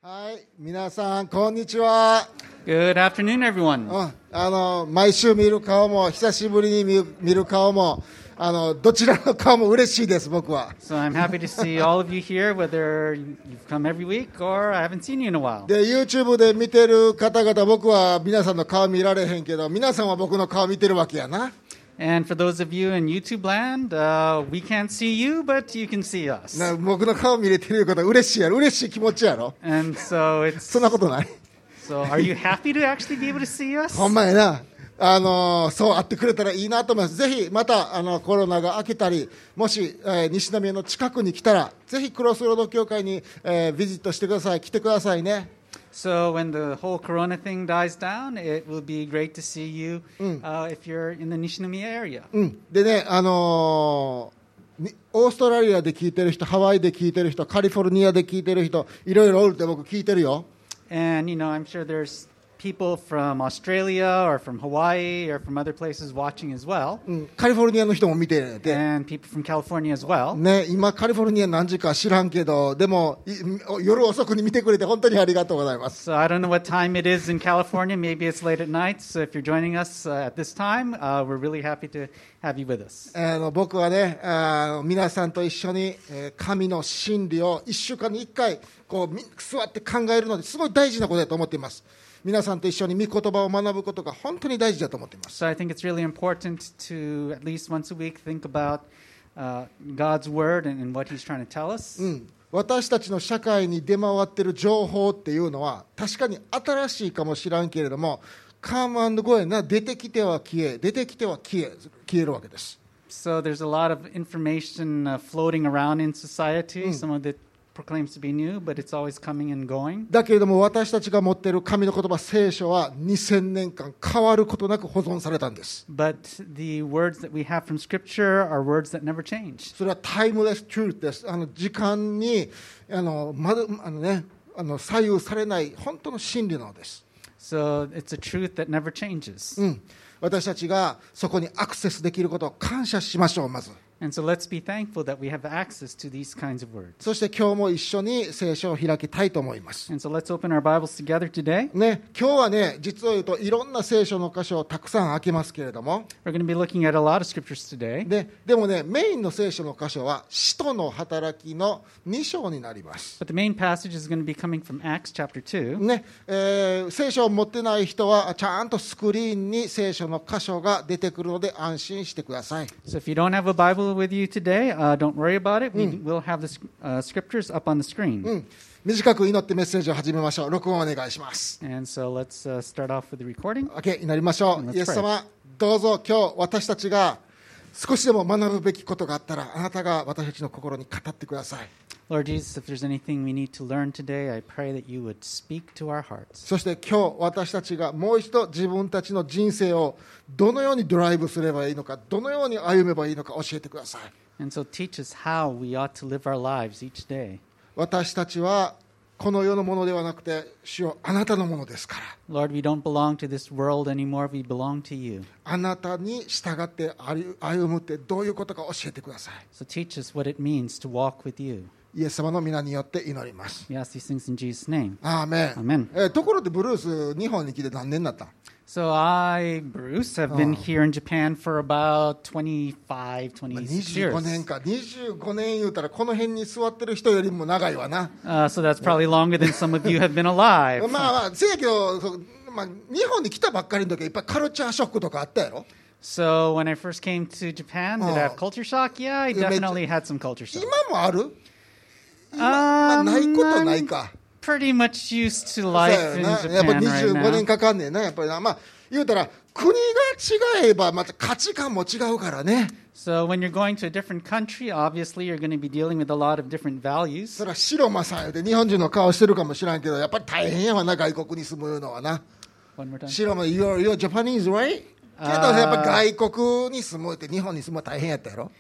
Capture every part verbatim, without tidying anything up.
はい、皆さんこんにちは。 Good afternoon, everyone. うん、あの毎週見る顔も久しぶりに見る、見る顔もあのどちらの顔も嬉しいです。僕は So I'm happy to see all of you here, whether you've come every week or I haven't seen you in a while. で YouTube で見てる方々、僕は皆さんの顔見られへんけど、皆さんは僕の顔見てるわけやな。 And for those of you in YouTube land, uh, we can't see you, but you can see us. な僕の顔見れてることは嬉しいやろ、嬉しい気持ちやろ。 And so it's そんなことない。 so are you happy to actually be able to see us? ほんまやな。あのそうあってくれたらいいなと思います。ぜひまたあのコロナが明けたり、もし、えー、西宮の近くに来たら、ぜひクロスロード教会に、えー、ビジットしてください。来てくださいね。 So when the whole Corona thing dies down, it will be great to see you uh, if you're in the Nishinomiya area. うん、でね、あのー、オーストラリアで聞いてる人、ハワイで聞いてる人、カリフォルニアで聞いてる人、いろいろおるって僕聞いてるよ。 And you know, I'm sure there's people from Australia or from Hawaii or from other places watching as well. うん、カリフォルニアの人も見てるて、 And people from California as well. ね、今カリフォルニア何時か知らんけど、でも夜遅くに見てくれて本当にありがとうございます。 So I don't know what time it is in California. Maybe it's late at night. So if you're joining us uh, at this time, uh, we're really happy to have you with us. あの僕はね、あの皆さんと一緒に、えー、神の真理をいっしゅうかんにいっかいこう座って考えるのですごい大事なことだと思っています。皆さんと一緒に御言葉を学ぶことが本当に大事だと思っています。 So I think it's really important to at least once a week think about uh, God's word and, and what He's trying to tell us. うん、私たちの社会に出回っている情報っていうのは確かに新しいかもしらんけれども、カムアンドゴーな出てきては消え、出てきては消え、消えるわけです。 So there's a lot of information uh, floating around in society. Some of it proclaims to be new, but it's always coming and going. だけれども私たちが持っている神の言葉、聖書はにせんねんかん変わることなく保存されたんです。 But the words that we have from Scripture are words that never change. それはタイムレストゥースです。あの時間にあの、ま、あの、ね、あの左右されない本当の真理なのです。 So it's a truth that never changes. うん、私たちがそこにアクセスできることを感謝しましょう。まず And so let's be thankful that we have access to these kinds of words. そして今日も一緒に聖書を開きたいと思います。 And so let's open our Bibles together today. ね、今日はね、実を言うといろんな聖書の箇所をたくさん開けますけれども、 We're going to be looking at a lot of scriptures today. で, でもね、メインの聖書の箇所は使徒の働きのに章になります。 But the main passage is going to be coming from Acts chapter two. ねえー、聖書を持ってない人はちゃんとスクリーンに聖書の箇所が出てくるので安心してください。 So if you don't have a Bible with you today, uh, don't worry about it. We will have the uh, scriptures up on the screen. うん、短く祈ってメッセージを始めましょう。録音お願いします。 And so let's uh, start off with the recording. OK、祈りましょう。 Let's pray. イエス様、どうぞ今日私たちが少しでも学ぶべきことがあったら、あなたが私たちの心に語ってください。 Lord Jesus, if there's anything we need to learn today, I pray that you would speak to our hearts. そして今日私たちがもう一度自分たちの人生をどのようにドライブすればいいのか、どのように歩めばいいのか教えてください。 And so teach us how we ought to live our lives each day. 私たちはこの世のものではなくて、主よ、あなたのものですから。 Lord, we don't belong to this world anymore. We belong to you. あなたに従って歩むってどういうことか教えてください。 So teach us what it means to walk with you. イエス様の皆によって祈ります。 We ask these things in Jesus' name. アーメン。 Amen. えーところでブルース、日本に来て何年になった？ So I, Bruce, have been here in Japan for about twenty-five, まあ twenty-six にじゅうご years. 年か。にじゅうごねん言うたらこの辺に座ってる人よりも長いわな。 Uh, so that's probably longer than some of you have been alive. まあまあ、せやけど、そうまあ、日本に来たばっかりの時はいっぱいカルチャーショックとかあったやろ。 So when I first came to Japan, did I have culture shock? Yeah, I definitely had some culture shock. 今もある？今、まあ、ないことないか。 Pretty much used to life in やっぱ Japan にじゅうご right 年 now. かかんねんな。やっぱりな。まあ、言うたら国が違えばまた価値観も違うからね。 So when you're going to a different country, obviously you're going to be dealing with a lot of different values. それは白間さんよって日本人の顔してるかもしらんけど、やっぱり大変やわな、外国に住むのはな。 One more time. 白間、you're, you're Japanese, right? けどやっぱ外国に住むって日本に住むのは大変やったやろ。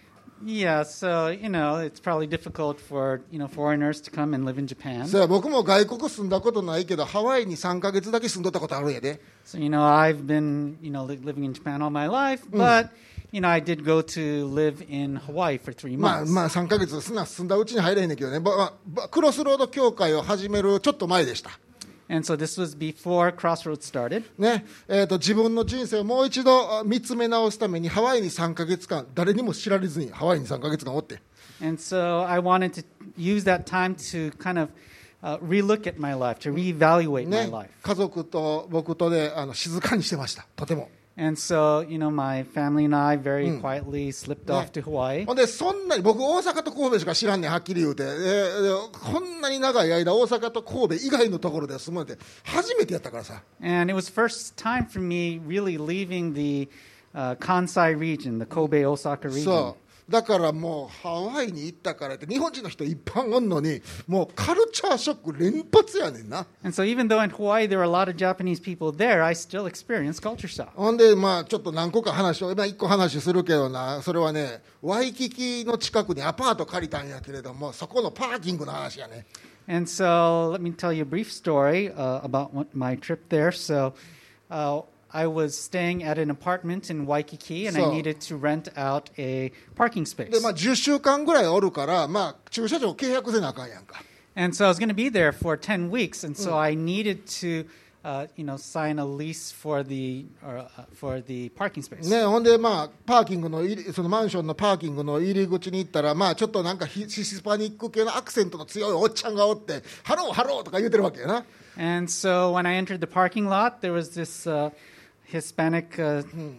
Yeah, so, you know, it's probably difficult for, you know, foreigners to come and live in Japan. そうや僕も外国住んだことないけどハワイにさんかげつだけ住んどったことあるんやで。 So, you know, I've been, you know, li- living in Japan all my life, but, you know, I did go to live in Hawaii for three まあ months. まあさんかげつすな住んだうちに入れへんねんけどね、ばばクロスロード教会を始めるちょっと前でした。 And so this was before Crossroads started. ねえー、と自分の人生をもう一度あ見つめ直すためにハワイにさんかげつかん誰にも知られずにハワイにさんかげつかんおって、 And so I wanted to use that time to kind of uh, relook at my life, to reevaluate my ね life. 家族と僕とであの静かにしてましたとても。 And so, you know, my family and I very quietly slipped off to Hawaii. ほんでそんなに僕大阪と神戸しか知らんねんはっきり言うて、えーでこんなに長い間大阪と神戸以外のところで住むなんて初めてやったからさ。 And it was first time for me really leaving the uh, Kansai region, the Kobe, Osaka region. そうだからもうハワイに行ったからって日本人の人いっぱいおんのにもうカルチャーショック連発やねんな。 And so even though in Hawaii there were a lot of Japanese people there, I still experienced culture shock. ほんでまあちょっと何個か話を、まあ、いっこ話するけどな、それはねワイキキの近くにアパート借りたんやけれどもそこのパーキングの話やね。 And so let me tell you a brief story uh, about what, my trip there. So uh, I was staying at an apartment in Waikiki, and I So- needed to rent out a parking で space. まあじゅっしゅうかんぐらいおるからまあ駐車場契約せなあかんやんか。 And so I was going to be there for ten weeks, and so I needed to, uh, you know, sign a lease for the or, uh, for the parking space. ね、ほんでまあパーキングの入りそのマンションのパーキングの入り口に行ったらまあちょっとなんかヒヒスパニック系のアクセントの強いおっちゃんがおってハローハローとか言うてるわけやな。 And so when I entered the parking lot, there was this uh, Hispanic uh,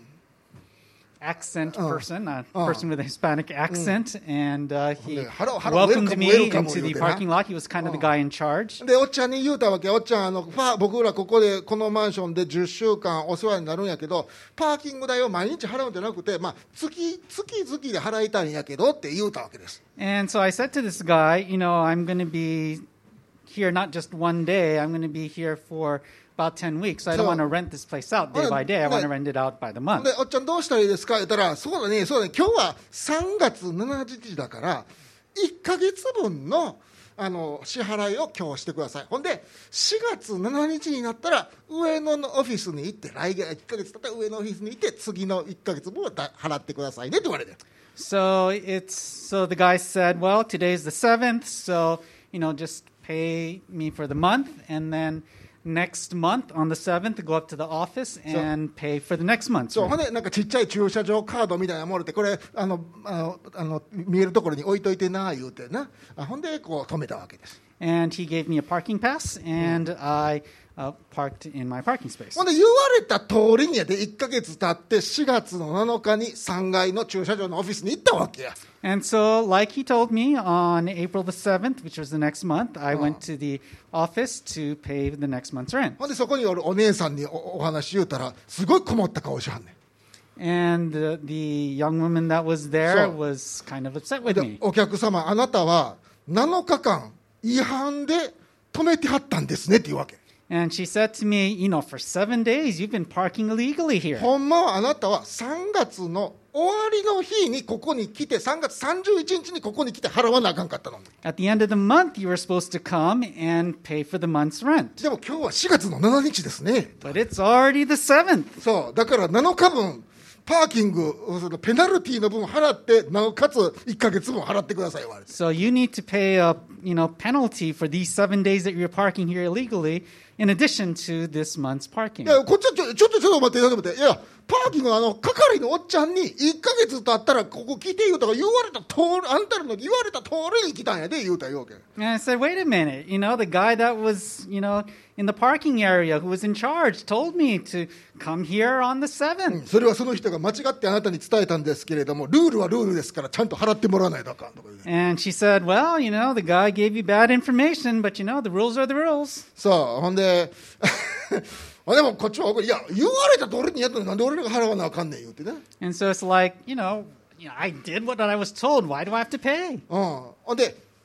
accent Oh. person, a Oh. person with a Hispanic accent, and uh, he Okay. Hello, hello, welcomed welcome, me welcome, into the you did, parking huh? lot. He was kind of the Oh. guy in charge. でおっちゃんに言うたわけ、おっちゃんあのパー僕らここでこのマンションでじゅっしゅうかんお世話になるんやけどパーキング代を毎日払うんじゃなくて、まあ、月月々で払いたいんやけどって言うたわけです。 And so I said to this guy, you know, I'm going to be here not just one day, I'm going to be here for about ten weeks. So I don't So- want to rent this place out day Well, by day. I want to well- rent it out by the で month. おっちゃんどうしたらいいですか言ったらそうだねそうだね今日はさんがつしちにちだからいっかげつぶんのあの支払いを今日してください。ほんでしがつしちにちになったら上野のオフィスに行って来月いっかげつ経ったら上のオフィスに行って次のいっかげつぶんをだ払ってくださいねって言われて。 So it's so the guy said, well, today's the seventh, so you know, just pay me for the month, and then next month on the seventh, go up to the office and pay for the next month. そうほんでなんかちっちゃい駐車場カードみたいなものでこれあのあのあの見えるところに置いといてな言うてなあほんでこう止めたわけです。 And he gave me a parking pass, and I uh, parked in my parking space. ほんで言われた通りにやでいっかげつ経ってしがつのなのかにさんがいの駐車場のオフィスに行ったわけや。 And so, like he told me, on April the seventh, which was the next month, I went to the office to pay the next month's rent. ほんでそこにおるお姉さんにおお話言うたらすごい困った顔しはんね And uh, the young woman that was there So- was kind of upset ん with で me. お客様あなたはなのかかん違反で止めてはったんですねって言うわけ。 And she said to me, you know, for seven days you've been parking illegally here. ほんまはあなたはさんがつの終わりの日にここに来てさんがつさんじゅういちにちにここに来て払わなあかんかったのに。 At the end of the month, you were supposed to come and pay for the month's rent. でも今日はしがつのしちにちですね。 But it's already the seventh. そうだからなのかぶんパーキングそのペナルティの分払ってなおかついっかげつぶん払ってください言われて。 So you need to pay a, you know, penalty for these seven days that you're parking here illegally, in addition to this month's い parking. やこっちはちょちょっとちょっと待ってちょっと待っていやパーキングのあの係のおっちゃんにいっかげつ経ったらここ来て言うたから言われた通りあんたらの言われた通りに来たんやで言うた言うわけ。 And I said, wait a minute, you know, the guy that was, you know, in the parking area who was in charge told me to come here on the seventh. それはその人が間違ってあなたに伝えたんですけれどもルールはルールですからちゃんと払ってもらわないとあかんとか言うて。 And she said, well, you know, the guy gave you bad information, but you know, the rules are the rules. そうほんであでもこっちは怒りいや言われた通りにやったのになんで俺らが払わなあかんねん言うてね。 And so it's like, you know, you know, I did what I was told. Why do I have to pay? うん、ほんで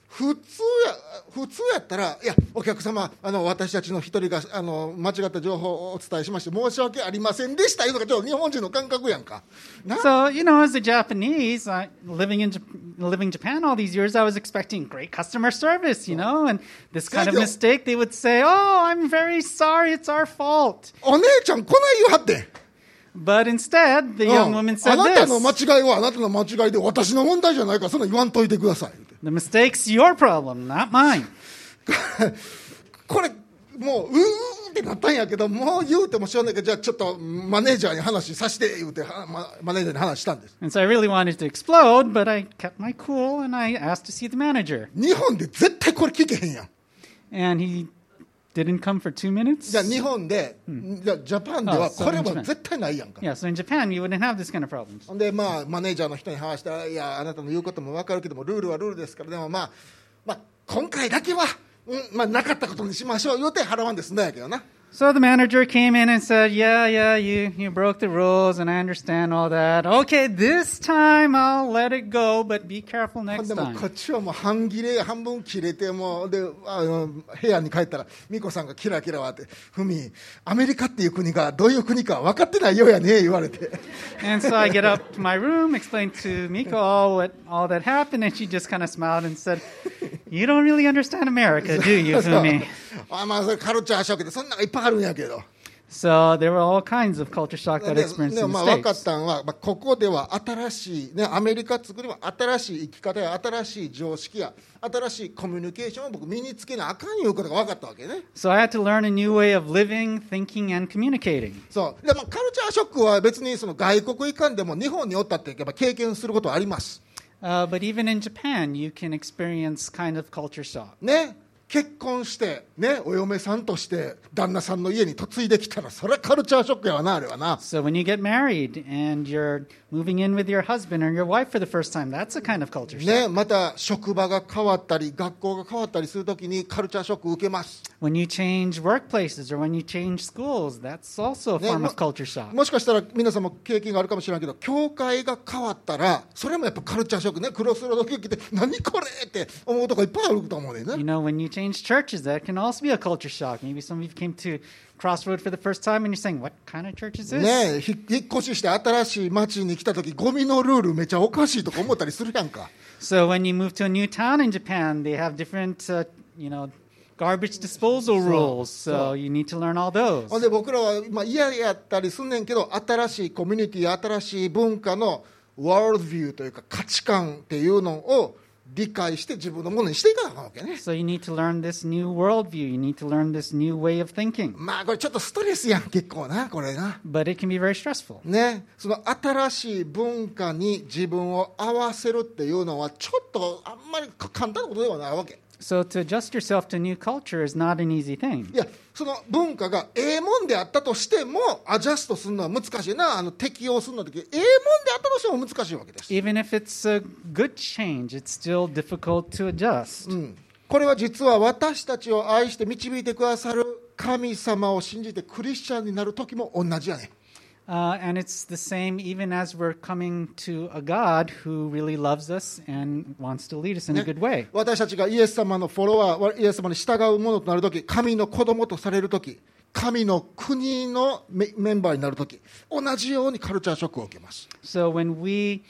普通や普通やったら、いやお客様、あの私たちの一人があの間違った情報をお伝えしまして申し訳ありませんでしたいうのがちょっと日本人の感覚やんかな。 So, you know, as a Japanese, I, living in Jap- living in Japan all these years, I was expecting great customer service, you know, and this kind of mistake, they would say, "Oh, I'm very sorry, it's our fault." お姉ちゃんこない言うはって、 But instead, the う young ん woman あ said なたの間 this: 違いはあなたの間違いで私の問題じゃないからそんな言わんといてください。 "The mistake's your problem, not mine." これもううーってなったんやけど、もう言うてもしょうがないけど、じゃあちょっとマネージャーに話させて言うてはママネージャーに話したんです。 And so I really wanted to explode, but I kept my cool and I asked to see the manager. 日本で絶対これ聞けへんやん。 And he didn't come for two minutes. じゃあ日本で、じゃあジャパンではこれは絶対ないやんか。 Yeah, so in Japan, you wouldn't have this kind of problems. ほんでまあマネージャーの人に話したら、いやあなたの言うことも分かるけどもルールはルールですから、でもまあ、まあ、今回だけは、うんまあ、なかったことにしましょう言うて払わんですんだやけどな。 So the manager came in and said, yeah, yeah, you, you broke the rules and I understand all that. Okay, this time I'll let it go, but be careful ほん next でも time. こっちはもう半切れ半分切れてもうであの部屋に帰ったら美子さんがキラキラわって「ふみアメリカっていう国がどういう国か分かってないようやね」言われて And so I get up to my room, explain to Miko all what all that happened, and she just kind of smiled and said, you don't really understand America, do you, Fumi? あまあそれカルチャーショックでそんなのいっぱいあるんやけど。 So there were all kinds of culture shock that I で experienced で in も the まあ分かっ States. たのは、まあ、ここでは新しい、ね、アメリカ作りは新しい生き方や新しい常識や新しいコミュニケーションを僕身につけなあかんいうことが分かったわけね。 So I had to learn a new way of living, thinking, and communicating. そうで、まあ、カルチャーショックは別にその外国行かんでも日本におったってやっぱ経験することはあります、 Uh, but even in Japan, you can experience kind of culture shock. ね、結婚して、ね、お嫁さんとして旦那さんの家に嫁いできたらそれはカルチャーショックやわなあれはな。 So when you get married and you're moving in with your husband or your wife for the first time, that's a kind of culture shock. ね、また職場が変わったり学校が変わったりするときにカルチャーショック受けます。 When you change workplaces or when you change schools, that's also a ね form も of culture shock. もしかしたら皆さんも経験があるかもしれないけど教会が変わったらそれもやっぱカルチャーショックね。クロスロードケーキって何これって思うとこいっぱいあると思うねん You ね。 know, when you change churches, that can also be a culture shock. Maybe some of you came to Crossroad for the first time and you're saying, what kind of church is this? ね、ひ引っ越しして新しい町に来た時ゴミのルールめちゃおかしいとか思ったりするやんか。 So when you move to a new town in Japan, they have different, uh, you know, garbage disposal rules. So you need to learn all those. ほんで僕らは、まあ、嫌やったりすんねんけど新しいコミュニティ新しい文化のワールドビューというか価値観っていうのを理解して自分のものにしていかなあかんわけね。 So you need to learn this new worldview. You need to learn this new way of thinking. まあこれちょっとストレスやん結構なこれな。 But it can be very stressful. ね、その新しい文化に自分を合わせるっていうのはちょっとあんまり簡単なことではないわけ。 So to adjust yourself to a new culture is not an easy thing. いやその文化がええもんであったとしてもアジャストするのは難しいな。あの適応するのだけええもんであったとしても難しいわけです、 Even if it's a good change, it's still difficult to adjust. うん、これは実は私たちを愛して導いてくださる神様を信じてクリスチャンになる時も同じやね。 Uh, and it's the same even as we're coming to a God who really loves us and wants to lead us in a good way. 私たちがイエス様のフォロワーイエス様に従うものとなるとき神の子供とされるとき神の国のメメンバーになるとき同じようにカルチャーショックを受けます。 So when we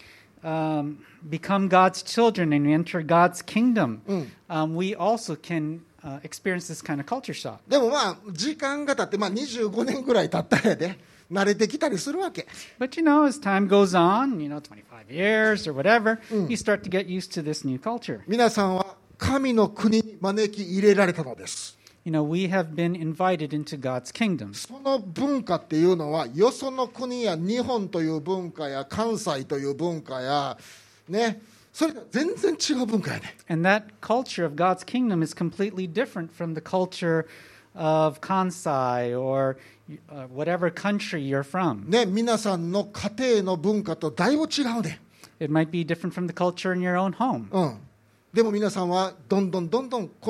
um, become God's children and we enter God's kingdom, um, we also can uh, experience this kind of culture shock. でもまあ時間が経って、まあ、にじゅうごねんぐらい経ったらやで慣れてきたりするわけ。 But you know, as time goes on, you know, twenty-five years or whatever, you start to get used to this new culture. 皆さんは神の国に招き入れられたのです。 You know, we have been invited into God's kingdom. その文化っていうのはよその国や日本という文化や関西という文化やねそれが全然違う文化やね。 And that culture of God's kingdom is completely different from the culture of Kansai or uh, whatever country you're from. ね、皆さんの家庭の文化とだいぶ違うね。 It might be different from the culture in your own home. うん。でも皆さんはどんどんどんどんこの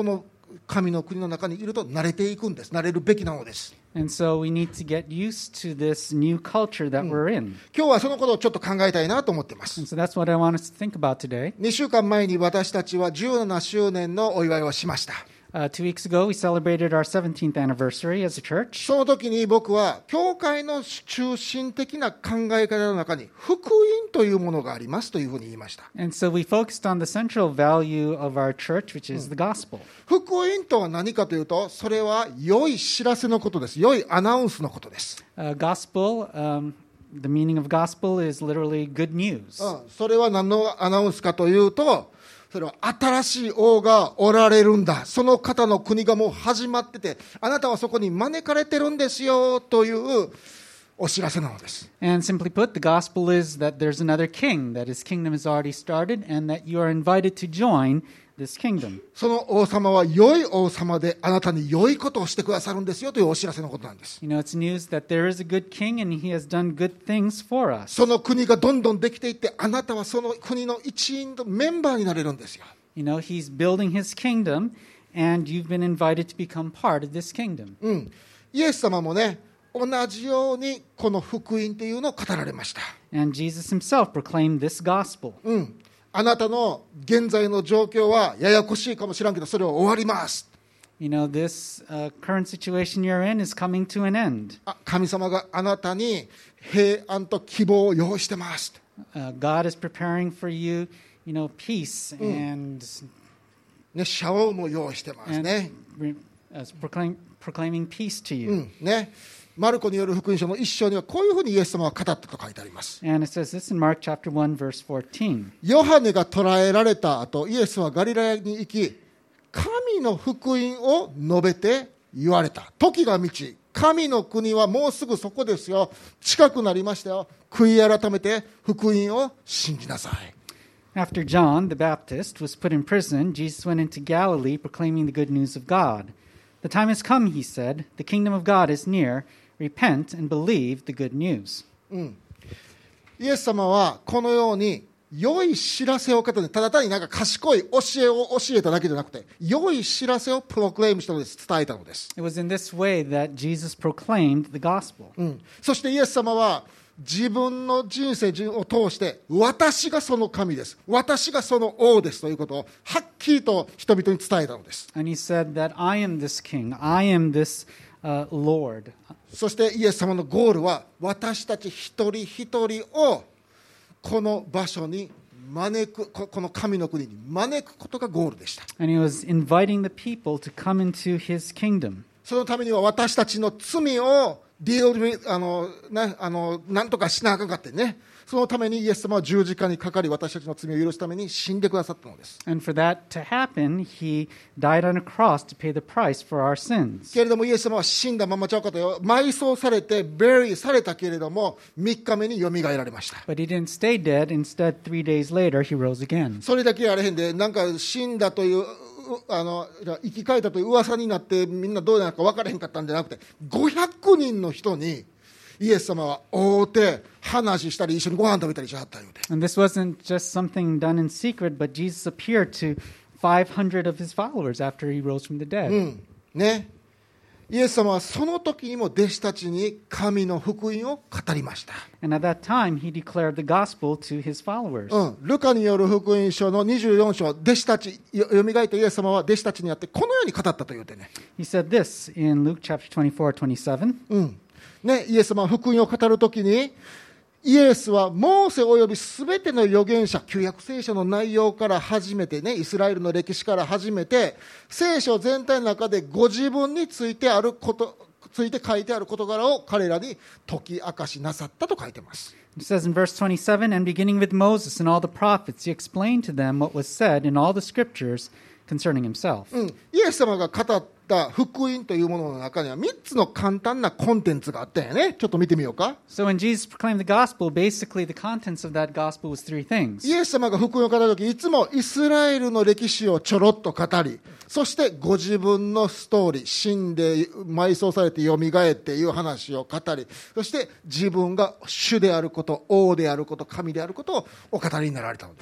神の国の中にいると慣れていくんです。慣れるべきなのです。 And so we need to get used to this new culture that we're in. 今日はそのことをちょっと考えたいなと思っています。 And so that's what I want us to think about today. にしゅうかんまえに私たちはじゅうななしゅうねんのお祝いをしました。 Uh, two weeks ago, we celebrated our seventeenth anniversary as a church. その時に僕は教会の中心的な考え方の中に福音というものがありますというふうに言いました。 And so we focused on the central value of our church, which is the gospel. 福音とは何かというと、それは良い知らせのことです。良いアナウンスのことです。 Uh, gospel, um, the meaning of gospel is literally good news. うん、それは何のアナウンスかというと、それは新しい王がおられるんだ。その方の国がもう始まってて、あなたはそこに招かれてるんですよというお知らせなのです。 And simply put, the gospel is that there's another king, that his kingdom has already started, and that you are invited to join this kingdom. その王様は良い王様で、あなたに良いことをしてくださるんですよというお知らせのことなんです。 You know, it's news that there is a good king and he has done good things for us. その国がどんどんできていって、あなたはその国の一員のメンバーになれるんですよ。 You know, he's building his kingdom, and you've been invited to become part of this kingdom. うん、イエス様もね、同じようにこの福音というのを語られました。 And Jesus himself proclaimed this gospel. うん、あなたの現在の状況はややこしいかもしれんけど、それは終わります。 You know, this uh, current situation you're in is coming to an end. あ、神様があなたに平安と希望を用意してます。 Uh, God is preparing for you, you know, peace and, ね、シャオも用意してます and ね。 re- uh, proclaim, proclaiming peace to you. うんね、マルコによる福音書の一章にはこういうふうにイエス様は語ったと書いてあります。 And it says this in Mark chapter one, verse fourteen. ヨハネが捕らえられた後、イエスはガリラヤに行き、神の福音を述べて言われた。時が満ち、神の国はもうすぐそこですよ。近くなりましたよ。悔い改めて福音を信じなさい。 After John the Baptist was put in prison, Jesus went into Galilee proclaiming the good news of God. The time has come, he said. The kingdom of God is near. Repent and believe the good news. うん、イエス様はこのように良い知らせを語って、ただ単になんか賢い教えを教えただけじゃなくて、良い知らせをプロクレームしたのです。伝えたのです。 It was in this way that Jesus proclaimed the gospel. うん、そしてイエス様は自分の人生を通して、私がその神です、私がその王ですということをはっきりと人々に伝えたのです。 And he said that I am this king, I am this uh, Lord. そしてイエス様のゴールは、私たち一人一人をこの場所に招く、この神の国に招くことがゴールでした。 And he was inviting the people to come into his kingdom. そのためには私たちの罪をディールあの、ね、あのなんとかしなあかんかってね、そのためにイエス様は十字架にかかり、私たちの罪を許すために死んでくださったのです。 And for that to happen, he died on a cross to pay the price for our sins. けれどもイエス様は死んだままちゃうかとよ、埋葬されてベリーされたけれどもみっかめによみがえられました。 But he didn't stay dead. Instead, three days later, he rose again. それだけやれへんで、なんか死んだというあの生き返ったという噂になってみんなどうなるか分からへんかったんじゃなくて、ごひゃくにんの人にイエス様は会うて話したり一緒にご飯食べたりしはったようで。 And this wasn't just something done in secret, but Jesus appeared to five hundred of his followers after he rose from the dead. うんね、イエス様はその時にも弟子たちに神の福音を語りました。 And at that time, he declared the gospel to his followers. うん、ルカによる福音書のにじゅうよん章、弟子たちよよみがえったイエス様は弟子たちにあってこのように語ったと言うてね。 He said this in Luke chapter twenty-four, twenty-seven. うんね、イエス様は福音を語るときに、イエスはモーセおよびすべての預言者、旧約聖書の内容から始めてね、イスラエルの歴史から始めて、聖書全体の中でご自分についてあることついて書いてある事柄を彼らに解き明かしなさったと書いてます。 It says in verse twenty-seven, and beginning with Moses and all the prophets, he explained to them what was said in all the scriptures concerning himself. うん、イエス様が語った福音というものの中にはみっつの簡単なコンテンツがあったんやね。ちょっと見てみようか。 So when Jesus proclaimed the gospel, basically the contents of that gospel was three things. イエス様が福音を語るとき、いつもイスラエルの歴史をちょろっと語り、そしてご自分のストーリー、死んで埋葬されてよみがえっていう話を語り、そして自分が主であること、王であること、神であることをお語りになられたのです。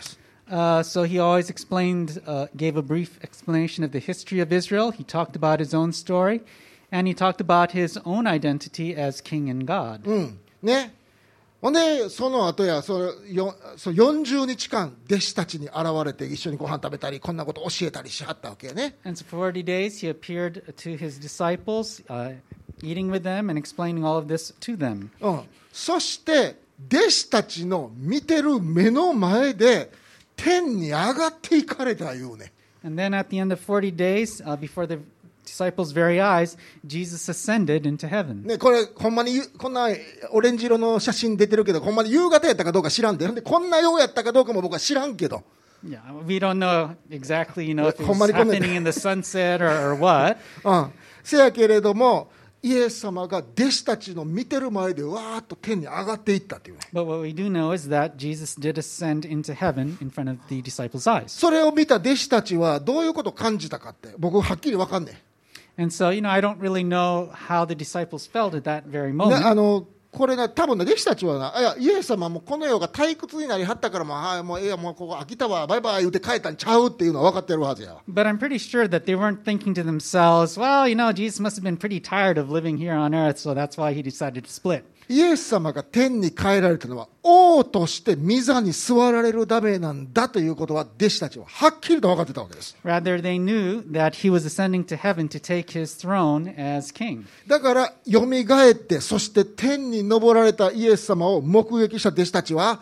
Uh, so he always explained, uh, gave a brief explanation of the history of Israel. He talked about his own story, and he talked about his own identity as king and God. うん、ね。ほんでその後やそよそよんじゅうにちかん弟子たちに現れて一緒にご飯食べたりこんなこと教えたりしはったわけやね。 And so for forty days he appeared to his disciples, uh, eating with them and explaining all of this to them. うん、そして弟子たちの見てる目の前で天に上がっていかれたいうね。 And then at the end of forty days, uh, before the disciples' very eyes, Jesus ascended into heaven. ね、これほんまにこんなオレンジ色の写真出てるけどほんまに夕方やったかどうか知らんで、ほんでこんなようやったかどうかも僕は知らんけど。 Yeah, we don't know exactly, you know, if it ほんま was にこんな happening in the sunset or, or what. うん、せやけれどもイエス様が弟子たちの見てる前でわーっと天に上がっていったというね。 But what we do know is that Jesus did ascend into heaven in front of the disciples' eyes. それを見た弟子たちはどういうことを感じたかって僕はっきり分かんねえ。 And so, you know, I don't really know how the disciples felt at that very ね、 moment. あのこれな多分ね弟子たちはな、いやイエス様もこの世が退屈になりはったからもう、はい、もういやもうここ飽きたわバイバイ言って帰ったんちゃうっていうのは分かってるはずや。 But I'm pretty sure that they weren't thinking to themselves, well, you know, Jesus must have been pretty tired of living here on earth, so that's why he decided to split. イエス様が天に帰られたのは王として御座に座られるためなんだということは弟子たちははっきりと分かってたわけです。 Rather, they knew that he was ascending to heaven to take his throne as king. だからよみがえってそして天に昇られたイエス様を目撃した弟子たちは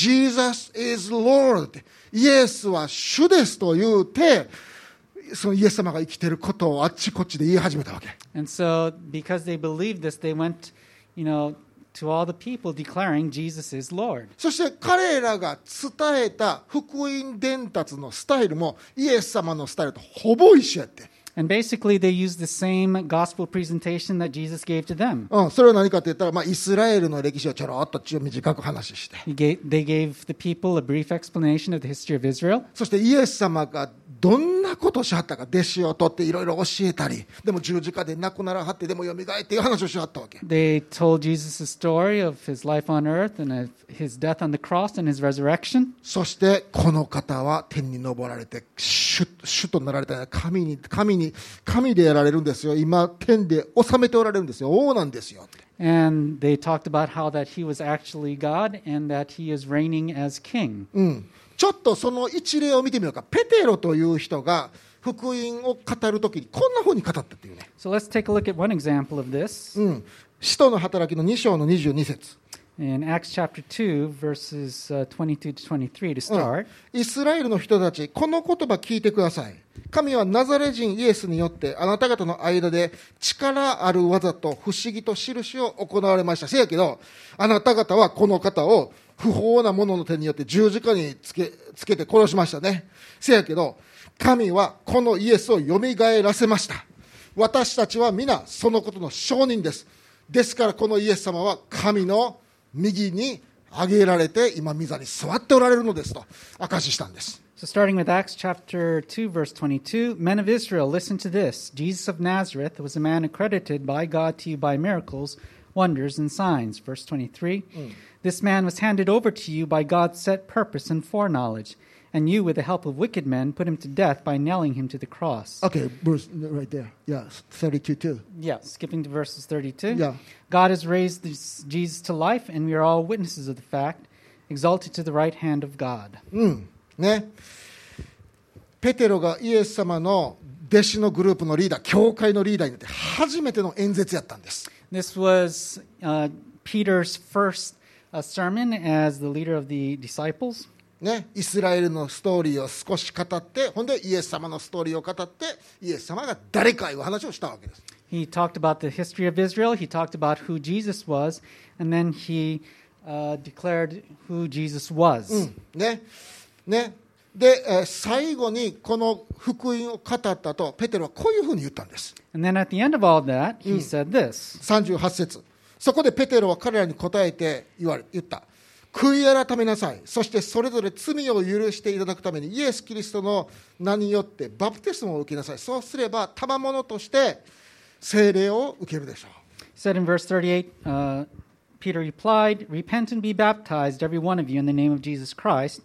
Jesus is Lord イエスは主ですと言うてそのイエス様が生きていることをあっちこっちで言い始めたわけ。 And so, because they believed this, they went, you know, to all the people declaring Jesus is Lord. そして彼らが伝えた福音伝達のスタイルもイエス様のスタイルとほぼ一緒やって。 And basically, they used the same gospel presentation that Jesus gave to them. うん、それは何かと言ったら、まあ、イスラエルの歴史をちょろっと短く話して、 He gave, they gave the people a brief explanation of the history of Israel. そしてイエス様がどんなことをしはったか弟子を取っていろいろ教えたり、でも十字架で亡くならはってでもよみがえっていう話をしはったわけ。 They told Jesus the story of his life on earth and of his death on the cross and his resurrection. そしてこの方は天に昇られて主、主となられた神に神に神でやられるんですよ。今天で治めておられるんですよ。王なんですよ。 And they talked about how that he was actually God and that he is reigning as king. うん。ちょっとその一例を見てみようか。ペテロという人が福音を語るときにこんなふうに語ったっていうね。 So let's take a look at one example of this. うん。使徒の働きのに章のにじゅうに節。 In Acts chapter two, verses uh, twenty-two to twenty-three to うん start. イスラエルの人たち、この言葉聞いてください。神はナザレ人イエスによってあなた方の間で力ある技と不思議と印を行われました。せやけど、あなた方はこの方を不法な者の手によって十字架につけ、つけて殺しましたね。せやけど、神はこのイエスをよみがえらせました。私たちは皆そのことの証人です。ですからこのイエス様は神の右に上げられて今御座に座っておられるのですと証ししたんです。 So starting with Acts chapter two, verse twenty-two, Men of Israel, listen to this. Jesus of Nazareth was a man accredited by God to you by miracles, wonders, and signs. Verse twenty-three, mm. This man was handed over to you by God's set purpose and foreknowledge, and you, with the help of wicked men, put him to death by nailing him to the cross. Okay, Bruce, right there. Yeah, thirty-two too. Yeah, skipping to verses thirty-two. Yeah. God has raised this Jesus to life, and we are all witnesses of the fact, exalted to the right hand of God. うんね、ペテロがイエス様の弟子のグループのリーダー、教会のリーダーになって初めての演説やったんです。 This was uh, Peter's first uh, sermon as the leader of the disciples. ね、イスラエルのストーリーを少し語って、ほんでイエス様のストーリーを語って、イエス様が誰かいう話をしたわけです。 He talked about the history of Israel. He talked about who Jesus was, and then he uh, declared who Jesus was. うんねね、で、えー、最後にこの福音を語ったとペテロはこういうふうに言ったんです。 And then at the end of all that, he said this. さんじゅうはち節。そこでペテロは彼らに答えて言われ言った。悔い改めなさい。そしてそれぞれ罪を許していただくためにイエス・キリストの名によってバプテスマを受けなさい。そうすれば賜物として聖霊を受けるでしょう。 He said in verse thirty-eight, uh, Peter replied, Repent and be baptized, every one of you, in the name of Jesus Christ,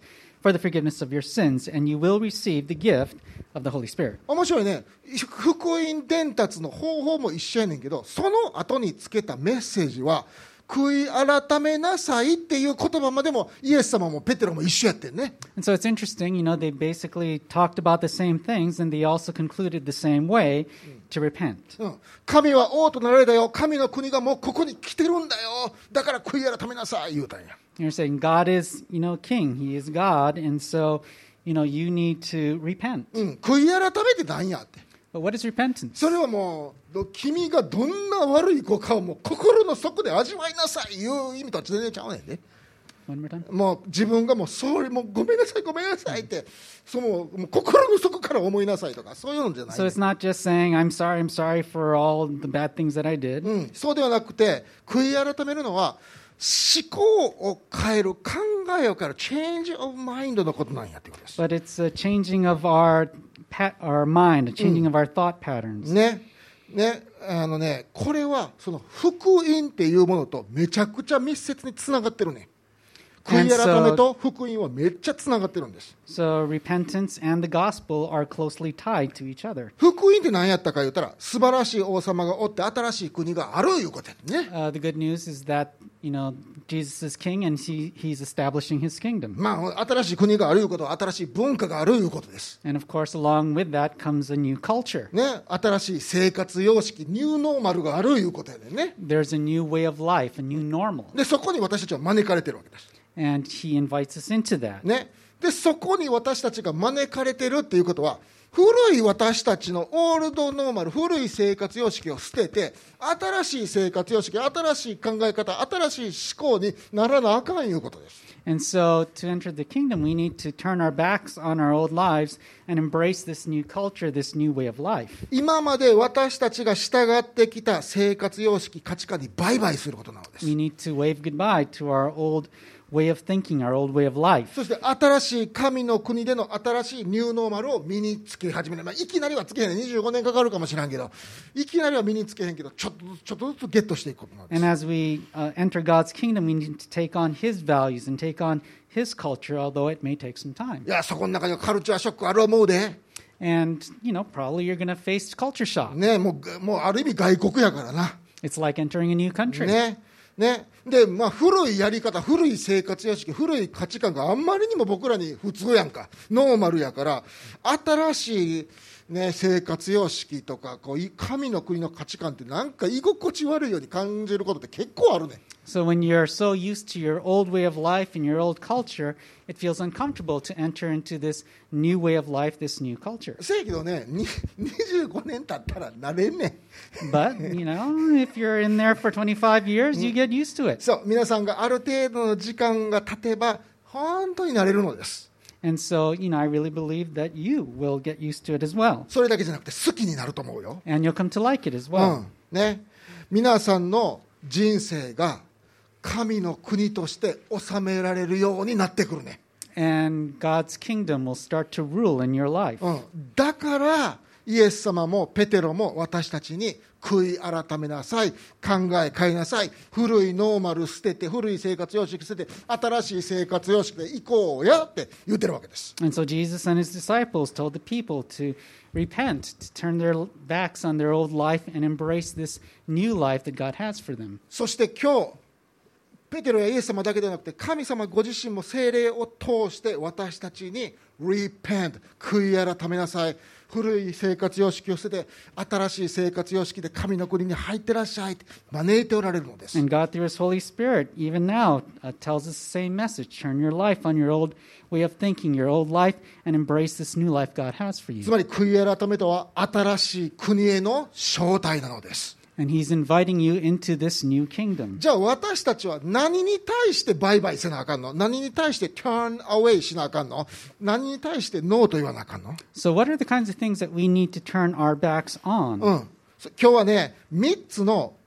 for the forgiveness of your sins, and you will receive the gift of the Holy Spirit. 面白いね。福音伝達の方法も一緒やねんけど、その後につけたメッセージは悔い改めなさいっていう言葉までもイエス様もペテロも一緒やってんね。 And so it's interesting, you know, they basically talked about the same things, and they also concluded the same way to repent. うん、神は王となられたよ。神の国がもうここに来てるんだよ。だから悔い改めなさい言うたんや。 You're saying God is, you know, king. He is God, and so, you know, you need to repent. うん、悔い改めてなんやって。 But what is repentance? それはもう君がどんな悪い子かをもう心の底で味わいなさいいう意味とは全然ちゃうねんね。 One more time. もう自分がもうそれもうごめんなさいごめんなさいってそのもう心の底から思いなさいとかそういうのじゃない、 So it's not just saying, I'm sorry, I'm sorry for all the bad things that I did. うん、そうではなくて悔い改めるのは思考を変える考えを変える change of mind のことなんやってことです。 But it's a changing of our pa- our mind, a changing of our thought patterns. ねねあのねこれはその福音っていうものとめちゃくちゃ密接につながってるね。悔い改めと福音はめっちゃつながってるんです。 So repentance and the gospel are closely tied to each other. 福音って何やったか言ったら素晴らしい王様がおって新しい国があるいうことやね。 Uh, the good news is that, you know, Jesus is king and he, he's establishing his kingdom. まあ新しい国があるいうことは新しい文化があるいうことです。 And of course, along with that comes a new culture. ね、新しい生活様式ニューノーマルがあるいうことやね。 There's a new way of life, a new normal. でそこに私たちは招かれてるわけです。 And he invites us into that. ね、でそこに私たちが招かれてるっていうことは古い私たちのオールドノーマル古い生活様式を捨てて新しい生活様式新しい考え方新しい思考にならなあかんいうことです。 And so to enter the kingdom, we need to turn our backs on our old lives and embrace this new culture, this new way of life. 今まで私たちが従ってきた生活様式価値観に売買することなのです。 We need to wave goodbye to our old way of thinking, our old way of life. そして新しい神の国での新しいニューノーマルを身につけ始める、まあ、いきなりはつけへんねにじゅうごねんかかるかもしれんけどいきなりは身につけへんけどちょっとずつちょっとずつゲットしていくことなんです。 And as we uh, enter God's kingdom, we need to take on his values and take on his culture, although it may take some time. いやそこの中にはカルチャーショックある思うで、 And, you know, probably you're going to face culture shock. ね、もうもうある意味外国やからな。 It's like entering a new country. ねね、で、まあ、古いやり方古い生活様式古い価値観があんまりにも僕らに普通やんかノーマルやから新しい、ね、生活様式とかこう神の国の価値観ってなんか居心地悪いように感じることって結構あるね。 So when you're so used to your old way of life and your old culture, it feels uncomfortable to enter into this new way of life, this new culture. せやけどねににじゅうごねん経ったら慣れんねん。 But, you know, if you're in there for twenty-five years, you get used to it. そう皆さんがある程度の時間が経てば本当に慣れるのです。 And so, you know, I really believe that you will get used to it as well. それだけじゃなくて好きになると思うよ。 And you'll come to like it as う well. んね、皆さんの人生が神の国として治められるようになってくるね。 And God's kingdom will start to rule in your life. うん、だからイエス様もペテロも私たちに悔い改めなさい、考え変えなさい、古いノーマル捨てて古い生活様式捨てて新しい生活様式で行こうやって言ってるわけです。 And so Jesus and his disciples told the people to repent, to turn their backs on their old life and embrace this new life that God has for them. そして今日ペテロやイエス様だけではなくて神様ご自身も聖霊を通して私たちに repent 悔い改めなさい、古い生活様式を捨てて新しい生活様式で神の国に入ってらっしゃいって招いておられるのです。 And God through his Holy Spirit even now uh, tells us the same message. Turn your life on your old way of thinking, your old life, and embrace this new life God has for つ you. まり悔い改めとは新しい国への招待なのです。 And he's inviting you into this new kingdom. じゃあ私たちは何に対してバイバイせなあかんの？何に対して turn away しなあかんの？何に対してノーと言わなあかんの？ So what are the kinds of things that we need to turn our backs on? うん、今日はねみっつの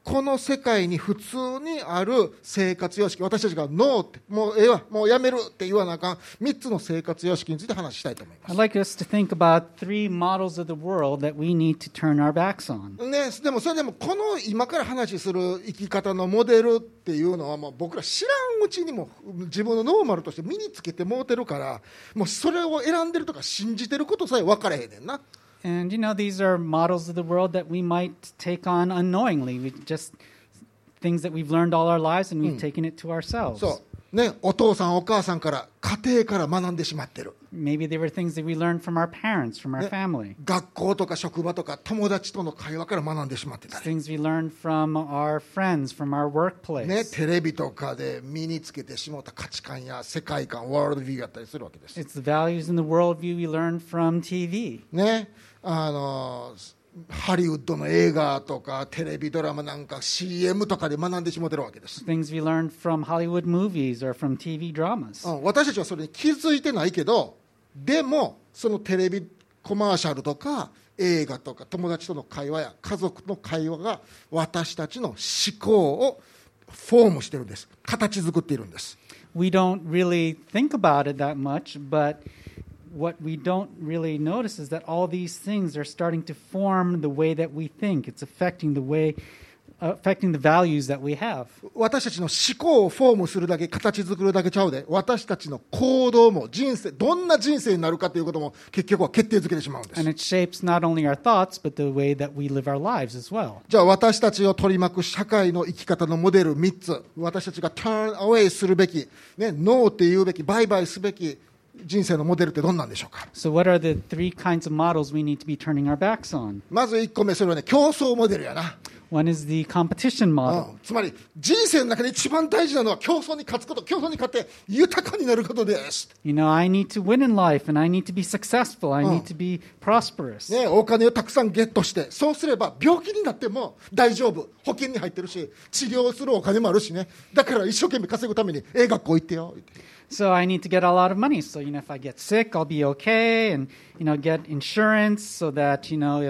この世界に普通にある生活様式、私たちがノーって、もうええわ、もうやめるって言わなあかんみっつの生活様式について話したいと思います。 I'd like us to think about three models of the world that we need to turn our backs on. ね、でもそれでもこの今から話する生き方のモデルっていうのはもう僕ら知らんうちにも自分のノーマルとして身につけてもうてるから、もうそれを選んでるとか信じてることさえ分からへんねんな。 And you know, these are models of the world that we might take on unknowingly. We just things that we've learned all our lives and we've taken it to ourselves. そうね、お父さんお母さんから家庭から学んでしまってる。 Maybe they were things that we learned from our parents, from our ね、 family. 学校とか職場とか友達との会話から学んでしまってたり、 Things we learned from our friends, from our workplace. ね、テレビとかで身につけてしまった価値観や世界観、ワールドビューやったりするわけです。 It's the values and the worldview we learned from T V. ね、あのハリウッドの映画とかテレビドラマなんか シーエム とかで学んでしまってるわけです。 Things we learned from Hollywood movies or from T V dramas. うん、私たちはそれに気づいてないけど、でもそのテレビコマーシャルとか映画とか友達との会話や家族の会話が私たちの思考をフォームしてるんです。形作っているんです。 We don't really think about it that much, but what we don't really notice is that all these things are starting to form the way that we think. It's affecting the way, uh, affecting the values that we have. 私たちの思考をフォームするだけ、形作るだけちゃうで、私たちの行動も人生、どんな人生になるかということも結局は決定づけてしまうんです。 And it shapes not only our thoughts, but the way that we live our lives as well. じゃあ私たちを取り巻く社会の生き方のモデルみっつ、私たちが turn away するべき、ね、ノーって言うべき、バイバイすべき人生のモデルってどんなんでしょうか。 So what are the three kinds of models we need to be turning our backs on? まずいっこめ、それはね、競争モデルやな。 One is the competition う model. ん、つまり人生の中で一番大事なのは競争に勝つこと、競争に勝って豊かになることです。 You know, I need to win in life and I need to be successful. I need to be prosperous. ね、お金をたくさんゲットして、そうすれば病気になっても大丈夫、保険に入ってるし、治療するお金もあるしね、だから一生懸命稼ぐためにええ学校行ってよ。 So I need to get a lot of money. So, you know, if I get sick, I'll be okay. And, you know, get insurance so that, you know, if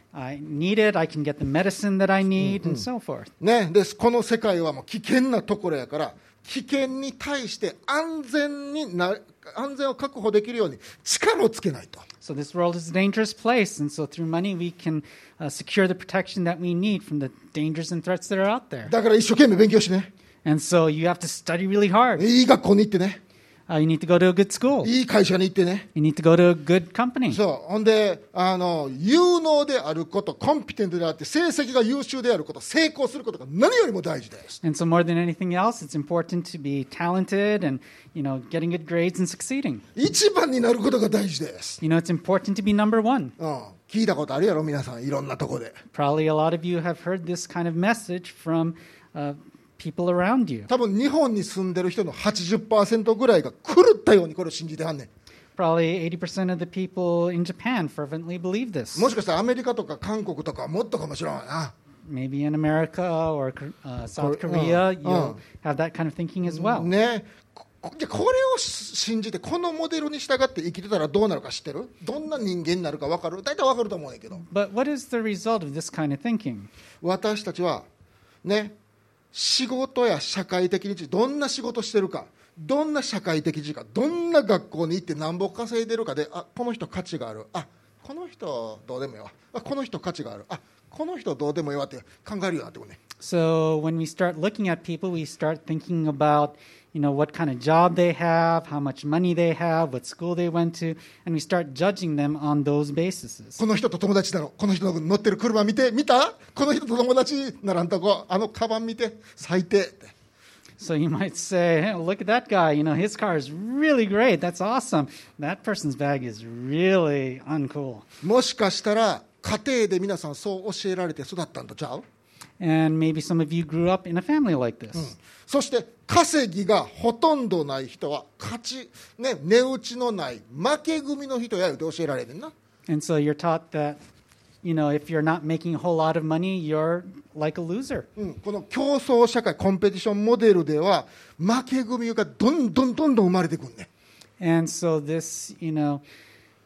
I need it, I can get the medicine that I need and so forth. ね、でこの世界はもう危険なところやから、危険に対して安全にな安全を確保できるように力をつけないと。 So this world is a dangerous place. And so through money, we can uh, secure the protection that we need from the dangers and threats that are out there. だから一生懸命勉強してね、 And so you have to study really hard. いい学校に行ってね、 Uh, you need to go to a good school. いい会社に行ってね。 You need to go to a good company. そうほんであの有能であること、コンピテントであって成績が優秀であること、成功することが何よりも大事です。 And so more than anything else, it's important to be talented and, you know, getting good grades and succeeding. 一番になることが大事です。 You know, it's important to be number one. うん、聞いたことあるやろ皆さん、いろんなとこで。 Probably a lot of you have heard this kind of message from uh, people around you. 多分日本に住んでる人の はちじゅっパーセント ぐらいが狂ったようにこれを信じてはんねん。 Probably eighty percent of the people in Japan fervently believe this. もしかしたらアメリカとか韓国とかはもっとかもしれないな。 Maybe in America or uh, South Kor- Korea, uh, you'll uh. have that kind of thinking as well. ね、こじゃあこれを信じてこのモデルに従って生きてたらどうなるか知ってる？どんな人間になるか分かる？大体分かると思うんやけど、 But what is the result of this kind of thinking? 私たちはね、仕事や社会的にどんな仕事してるか、どんな社会的時間、どんな学校に行って何ぼ稼いでるかで、あ、この人価値がある、あ、この人どうでもいいわ、あ、この人価値がある、あ、この人どうでもいいわって考えるようになってくるね。 So when we start looking at people, we start thinking about, you know, what kind of job they have, how much money they have, what school they went to, and we start judging them on those basis. この人と友達だろ、この人の乗ってる車見て、見た？この人と友達ならんとこ、あのカバン見て、最低って。 So you might say, hey, look at that guy, you know, his car is really great, that's awesome. That person's bag is really uncool. もしかしたら家庭で皆さんそう教えられて育ったんとちゃう？ And maybe some of you grew up in a family like this. うん、そして稼ぎがほとんどない人は勝ち、ね、値打ちのない負け組の人やって教えられてんな。 And so you're taught that, you know, if you're not making a whole lot of money, you're like a loser. うん、この競争社会コンペティションモデルでは負け組がどんどんどんどん生まれてくるね。 And so this, you know,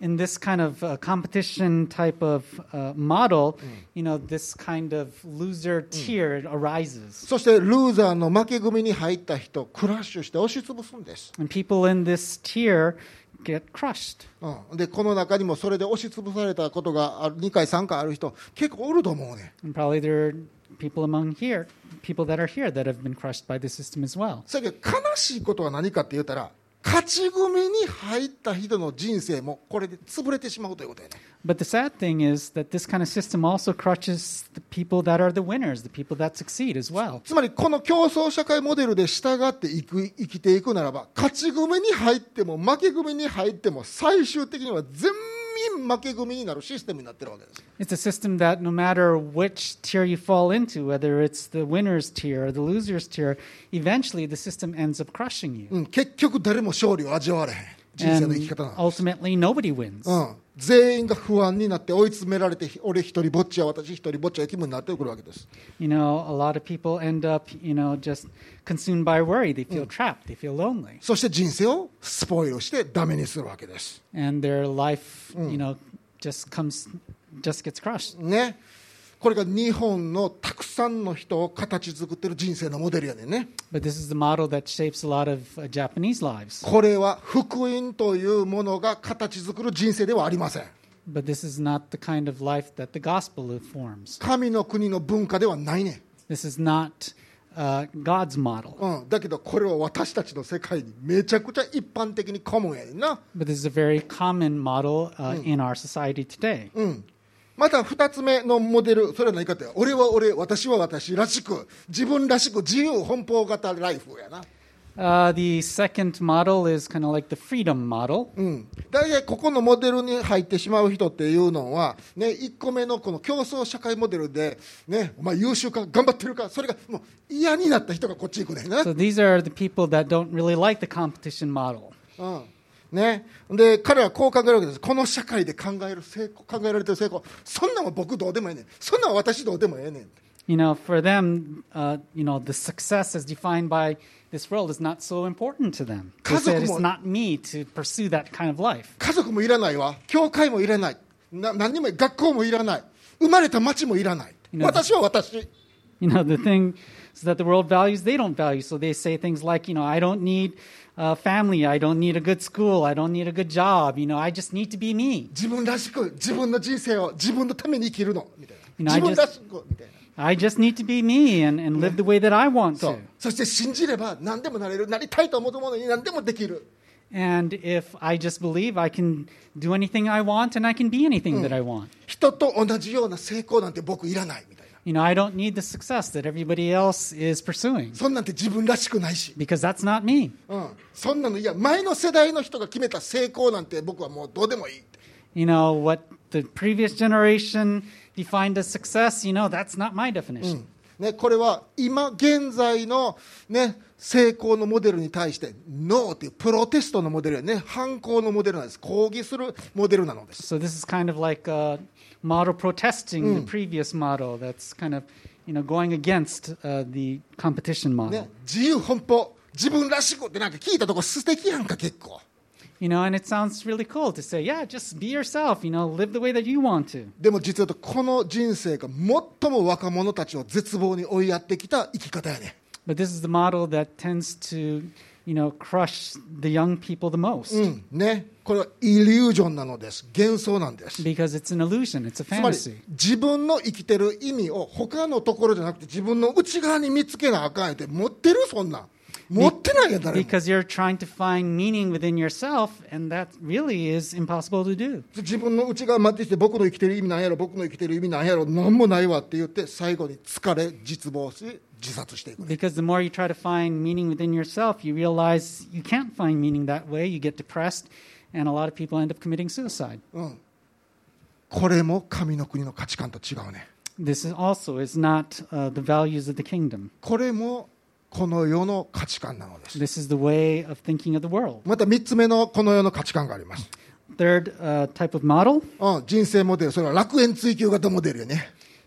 in this kind of uh, competition type of uh, model, you know, this kind of loser tier arises. そしてルーザーの負け組に入った人クラッシュして押しつぶすんです、 And people in this tier get crushed. うん、でこの中にもそれで押しつぶされたことがあるにかいさんかいある人結構おると思うね。 And probably there are people among here, people that are here that have been crushed by the system as well. それけど悲しいことは何かって言ったら勝ち組に入った人の人生もこれで潰れてしまうということやね。 But the sad thing is that this kind of system also crushes the people that are the winners, the people that succeed as well. つまりこの競争社会モデルで従っていく生きていくならば勝ち組に入っても負け組に入っても最終的には全員負け組になるシステムになってるわけです。 It's a system that no matter which tier you fall into, whether it's the winner's tier or the loser's tier, eventually the system ends up crushing you. うん、結局誰も勝利を味わわれへん人生の生き And 方なんです。 ultimately, nobody wins. うん、全員が不安になって追い詰められて俺一人ぼっちや私一人ぼっちや気分になってくるわけです。 You know, a lot of people end up, you know, just consumed by worry. They feel trapped. They feel lonely. そして人生をスポイルしてダメにするわけです。 And their life, you know, just comes, just gets crushed. ね、これが日本のたくさんの人を形作ってる人生のモデルやねんね。 But this is the model that shapes a lot of uh, Japanese lives. これは福音というものが形作る人生ではありません。 But this is not the kind of life that the gospel forms. 神の国の文化ではないねん。 This is not uh, God's model. うん、だけどこれは私たちの世界にめちゃくちゃ一般的にコモンやねんな。 But this is a very common model uh, in our society today. うんまた二つ目のモデル、それは何かって、俺は俺、私は私らしく、自分らしく自由奔放型ライフやな。 Uh, the second model is kind of like the freedom model. うん、大体ここのモデルに入ってしまう人っていうのは、ね、いっこめのこの競争社会モデルで、ね、お前優秀か頑張ってるかそれがもう嫌になった人がこっち行くねんな、 So these are the people that don't really like the competition model. うんね、で彼はこう考えるわけです。この社会で考える成功考えられてる成功そんなんは僕どうでもええねんそんなんは私どうでもええねん You know, for them, uh, you know, the success as defined by this world is not so important to them. They said it's not me to pursue that kind of life. 家族もいらないわ教会もいらないな何にも学校もいらない生まれた町もいらない You know, 私は私 You know, the thing is that the world values, they don't value. So they say things like, you know, I don't need a family. I don't need a good school. I don't need a good job. You know, I just need to be me. 自分らしく自分の人生を自分のために生きるのみたいな You know, I 自分らしくみたいな I just need to be me and, and live the way that I want そう to. そして信じれば何でもなれるなりたいと思うものに何でもできる And if I just believe I can do anything I want and I can be anything that I want. 人と同じような成功なんて僕いらないみたいな You know, I don't need the success that everybody else is pursuing そんなんて自分らしくないし、 because that's not me. うん、そんなのいや前の世代の人が決めた成功なんて僕はもうどうでもいい You know, what the previous generation defined as success, you know, that's not my definition. ね、これは今現在の、ね、成功のモデルに対してノーというプロテストのモデルやね反抗のモデルなんです抗議するモデルなのです So this is kind of like a model protesting the previous model that's kind of, you know, going against uh, the competition model. ね、自由奔放自分らしくってなんか聞いたとこ素敵やんか結構 You know, and it sounds really cool to say, yeah, just be yourself, you know, live the way that you want to. でも実は言うとこの人生が最も若者たちを絶望に追いやってきた生き方やね But this is the model that tends to, you know, crush the young people the most うんね、これはイリュージョンなのです幻想なんです because it's an illusion, it's a つまり fantasy. 自分の生きてる意味を他のところじゃなくて自分の内側に見つけなあかんって持ってるそんなん持ってないやん誰も Because you're trying to find meaning within yourself, and that really is impossible to do. 自分の内側待ってきて僕の生きてる意味なんやろ僕の生きてる意味なんやろ何もないわって言って最後に疲れ絶望し自殺していく Because the more you try to find meaning within yourself, you realize you can't find meaning that way. You get depressed, and a lot of people end up committing suicide. うんこれも神の国の価値観と違うね This is also is not uh, the values of the kingdom. これもこの世の価値観なのです This is the way of thinking of the world. またみっつめのこの世の価値観があります、 Third uh, type of model うん、人生モデルそれは楽園追求型モデルよね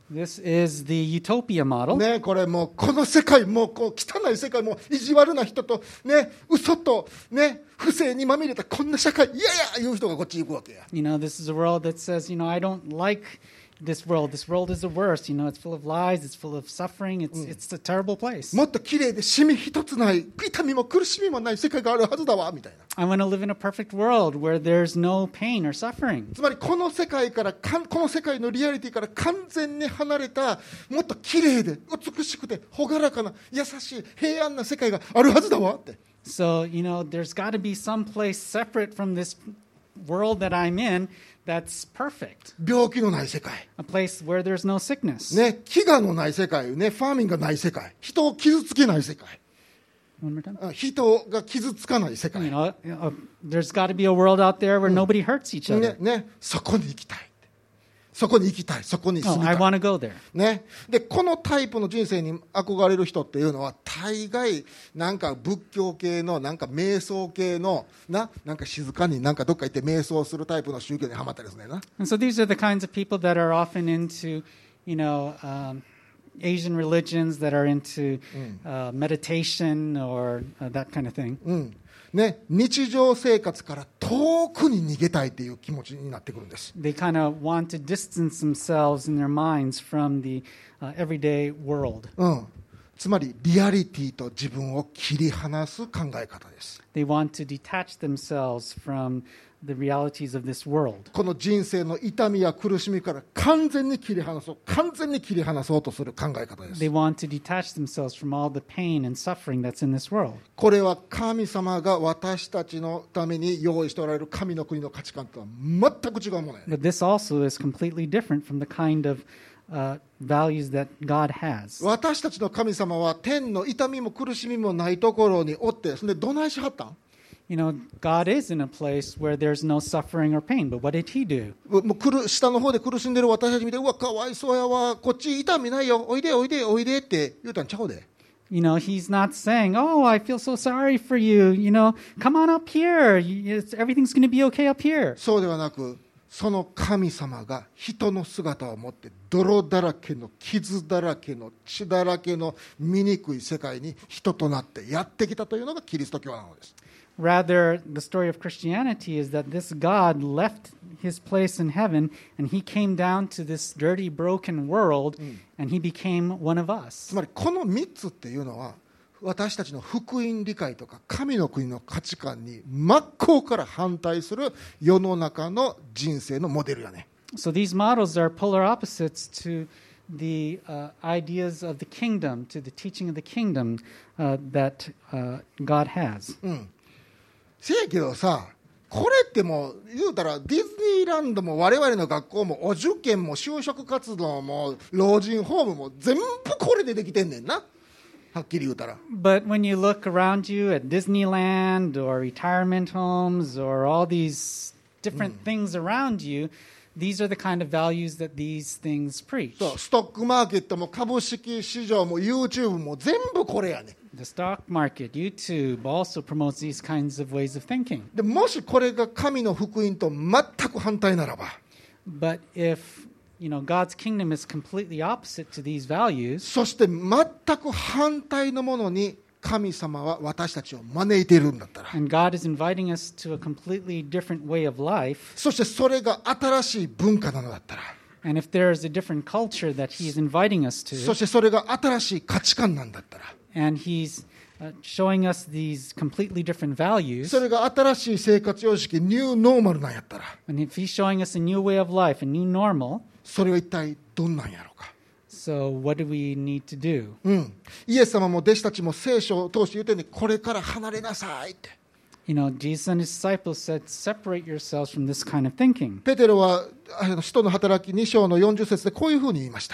This is the utopia model. ね、これもうこの世界、もうこう汚い世界、もう意地悪な人と、ね、嘘と、ね、不正にまみれたこんな社会、いやいやいう人がこっち行くわけや。 You know, this is a world that says, you know, I don't like this world. This world is the worst. You know, it's full of lies. It's full of suffering. It's it's a terrible place. もっと綺麗でシミ一つない、痛みも苦しみもない世界があるはずだわみたいな。 I want to live in a perfect world where there's no pain or suffering. つまりこの世界からかんこの世界のリアリティから完全に離れた、もっと綺麗で美しくて朗らかな優しい平安な世界があるはずだわって。 So, you know, there's got to be some place separate from this world that I'm in that's perfect. 病気のない世界、 A place where there's no sickness. ね、飢餓のない世界、ね、ファーミンがない世界、人を傷つけない世界、 One more time. 人が傷つかない世界、 You know, uh, there's got to be a world out there where nobody hurts each ね other. ね、そこに行きたい、そこに行きたい、そこに住 Oh, みた I い、 want to go there. ね、でこのタイプの人生に憧れる人っていうのは大概なんか仏教系のなんか瞑想系のな、なんか静かになんかどっか行って瞑想するタイプの宗教にはまったりですねな。 And so these are the kinds of people that are often into, you know, um, Asian religions that are into uh, meditation or uh, that kind of thing. うんね、日常生活から遠くに逃げたいという気持ちになってくるんです。 They kind of want to distance themselves in their minds from the uh, everyday world. うん、つまりリアリティと自分を切り離す考え方です。 They want to detach themselves from the realities of this world. この人生の痛みや苦しみから完全に切り離そう、完全に切り離そうとする考え方です。 They want to detach themselves from all the pain and suffering that's in this world. これは神様が私たちのために用意しておられる神の国の価値観とは全く違うものやね。 But this also is completely different from the kind of uh, values that God has. 私たちの神様は天の痛みも苦しみもないところにおって、そんでどないしはったん？ You know, God is in a place where there's no suffering or pain, but what did he do? もう苦下の方で苦しんでる私たち見て、うわかわいそうやわ、こっち痛みないよ、おいでおいでおいでって言うたんちゃうで。 You know, he's not saying, oh, I feel so sorry for you. You know, come on up here. You- it's- Everything's going to be okay up here. そうではなく、その神様が人の姿を持って泥だらけの傷だらけの血だらけの醜い世界に人となってやってきたというのがキリスト教なのです。 Rather, the story of Christianity is that this God left his place in heaven and he came down to this dirty, broken world and he became one of us. つまりこのみっつっていうのは私たちの福音理解とか神の国の価値観に真っ向から反対する世の中の人生のモデルやね。 So these models are polar opposites to the uh, ideas of the kingdom, to the teaching of the kingdom uh, that uh, God has. せやけどさ、これってもう言うたらディズニーランドも我々の学校もお受験も就職活動も老人ホームも全部これでできてんねんな、はっきり言うたら。 But when you look around you at Disneyland or retirement homes or all these different things around you, these are the kind of values that these things preach. そう、ストックマーケットも株式市場も YouTube も全部これやね。 The stock market, YouTube also promotes these kinds of ways of thinking. でもしこれが神の福音と全く反対ならば、 But if, you know, God's kingdom is completely opposite to these values, そして全く反対のものに神様は私たちを招いているんだったら、 and God is inviting us to a completely different way of life, そしてそれが新しい文化なのだったら、 and if there is a different culture that He is inviting us そ to, してそれが新しい価値観なんだったら、 and He's uh, showing us these completely different values, それが新しい生活様式ニューノーマルなんやったら、 and if He's showing us a new way of life, a new normal, それは一体どんなんやろうか。 so what do we need to do? うん、イエス様も弟子たちも聖書を通して言うてんね、これから離れなさいって。 You know, Jesus and His disciples said, separate yourselves from this kind of thinking. ペテロはあの使徒の働きに章のよんじゅっ節でこういうふうに言いました。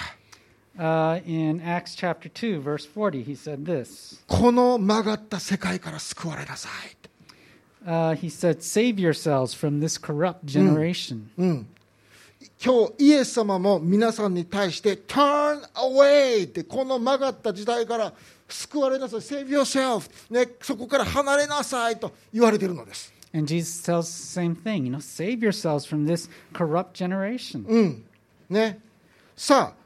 Uh, in Acts chapter two, verse forty, he said this. この曲がった世界から救われなさいって。 Uh, he said, save yourselves from this corrupt generation. うん、今日イエス様も皆さんに対して Turn away ってこの曲がった時代から救われなさい Save yourself、ね、そこから離れなさいと言われているのです。 And Jesus tells the same thing, you know, save yourselves from this corrupt generation. うんね、さあ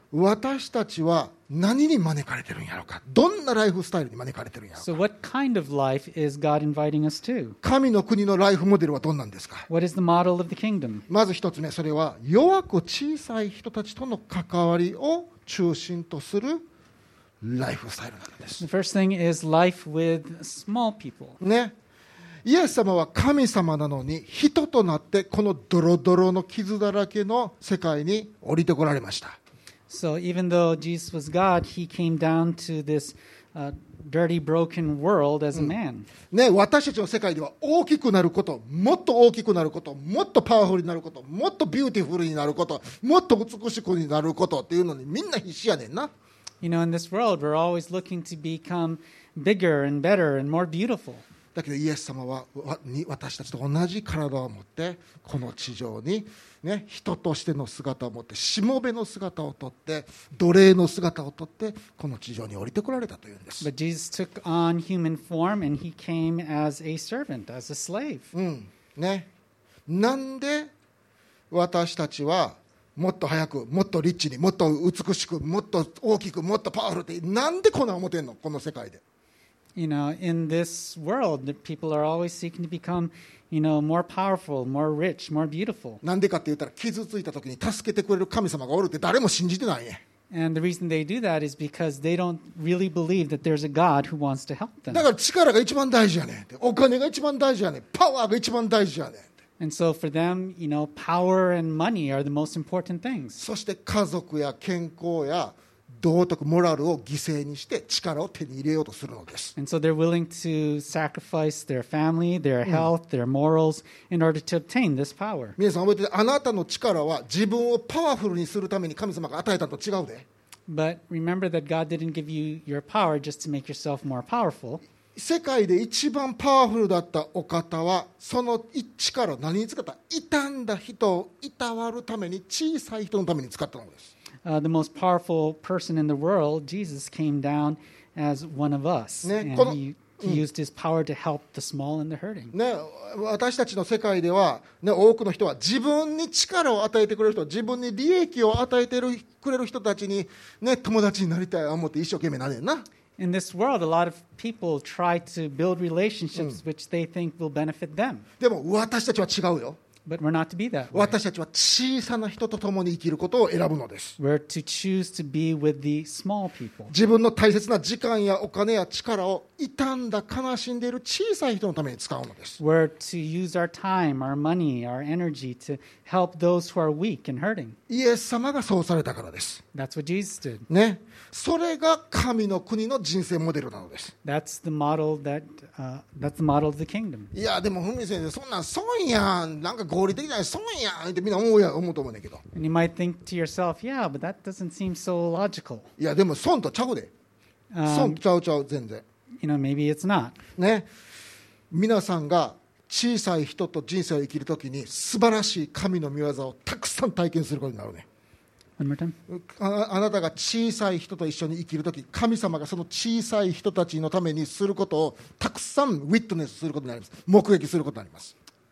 私たちは何に招かれてるんやろうか。どんなライフスタイルに招かれてるんやろう So か。 what kind of life is God inviting us to? 神の国のライフモデルはどんなんですか。 What is the model of the kingdom? まず一つ目、それは弱く小さい人たちとの関わりを中心とするライフスタイルなのです。 The first thing is life with small people. ね、イエス様は神様なのに人となってこのドロドロの傷だらけの世界に降りてこられました。 So even though Jesus was God, he came down to this uh, dirty, broken world as a man. ね、私たちの世界では大きくなること、もっと大きくなること、もっとパワフルになること、もっとビューティフルになること、もっと美しくになることっていうのにみんな必死やねんな。 You know, in this world, we're always looking to become bigger and better and more beautiful. だけどイエス様はわに私たちと同じ体を持ってこの地上に、ね、人としての姿を持ってしもべの姿をとって奴隷の姿をとってこの地上に降りてこられたというんです。 But Jesus took on human form and he came as a servant, as a slave. うんね、なんで私たちはもっと早くもっとリッチにもっと美しくもっと大きくもっとパワフルってなんでこんな思ってんのこの世界で。 You know, in this world, the people are always seeking to become, you know, more powerful, more rich, more beautiful. なんでかって言ったら傷ついた時に助けてくれる神様がおるって誰も信じてないね。 And the reason they do that is because they don't really believe that there's a God who wants to help them. だから力が一番大事やねんって、お金が一番大事やねん、パワーが一番大事やねんって。 And so for them, you know, power and money are the most important things. そして家族や健康や道徳モラルを犠牲にして力を手に入れようとするのです。 And so they're willing to sacrifice their family, their health, their morals in order to obtain this power. 皆さん覚えてて、あなたの力は自分をパワフルにするために神様が与えたのと違うで。 But remember that God didn't give you your power just to make yourself more powerful. 世界で一番パワフルだったお方はその力を何に使った？傷んだ人をいたわるために、小さい人のために使ったのです。 Uh, the most powerful person in the world, Jesus, came down as one of us. Ne, And kono- he, he used his power to help the small and the hurting. ね、私たちの世界では、ね、多くの人は自分に力を与えてくれる人、自分に利益を与えてるくれる人たちに、ね、友達になりたいと思って一生懸命なれんな。 In this world, a lot of people try to build relationships which they think will benefit them. でも私たちは違うよ。 But we're not to be that way. 私たちは小さな人と共に生きることを選ぶのです。 We're to choose to be with the small people. 自分の大切な時間やお金や力を傷んだ悲しんでいる小さい人のために使うのです。 We're to use our time, our money, our energy to help those who are weak and hurting. イエス様がそうされたからです。 That's what Jesus did. ね、それが神の国の人生モデルなのです。 That's the model that uh, that's the model of the kingdom. いやでもふみ先生そんなん損やん、なんか合理的じゃない損やんってみんな思うや思うと思うねんけど、 And you might think to yourself, yeah, but that doesn't seem so logical. いやでも損とちゃうで、損 Um, ちゃうちゃう全然 you know, maybe it's not. ね。皆さんが小さい人と人生を生きるときに素晴らしい神の御業をたくさん体験することになるね。 One more time. ああなたが小さい人と一緒に生きるとき、神様がその小さい人たちのためにすることをたくさんウィットネスすることになります。目撃することになります。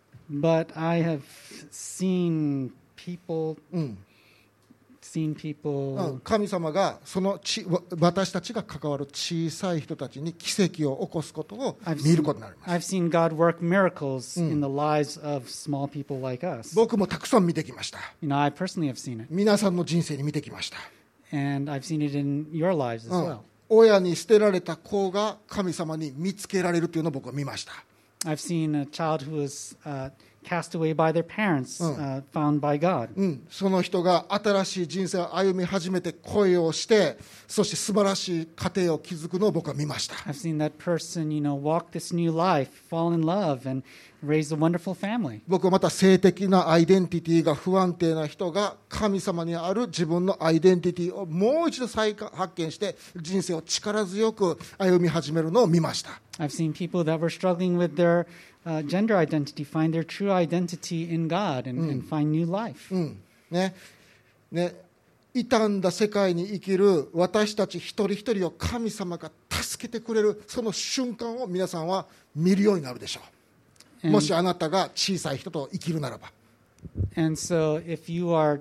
But I have seen people, うんう seen ん、 people 神様がそのちわ私たちが関わる小さい人たちに奇跡を起こすことを I've 見る seen, ことになります。 I've seen God work miracles in the lives of small people like us. 僕もたくさん見てきました。 You know, I personally have seen it, 皆さんの人生に見てきました。 and I've seen it in your lives as うん well. 親に捨てられた子が神様に見つけられるというのを僕は見ました。 I've seen a child who was uh, cast away by their parents, uh, found by God. うん、その人が新しい人生を歩み始めて恋をして、そして素晴らしい家庭を築くのを僕は見ました。 I've seen that person, you know, walk this new life, fall in love, and raise a wonderful family. 僕はまた性的なアイデンティティが不安定な人が神様にある自分のアイデンティティをもう一度再発見して人生を力強く歩み始めるのを見ました。 I've seen people that were struggling with their uh, gender identity find their true identity in God and, and find new life. うんねね、傷んだ世界に生きる私たち一人一人を神様が助けてくれるその瞬間を皆さんは見るようになるでしょう。もしあなたが小さい人と生きるならば。 And so if you are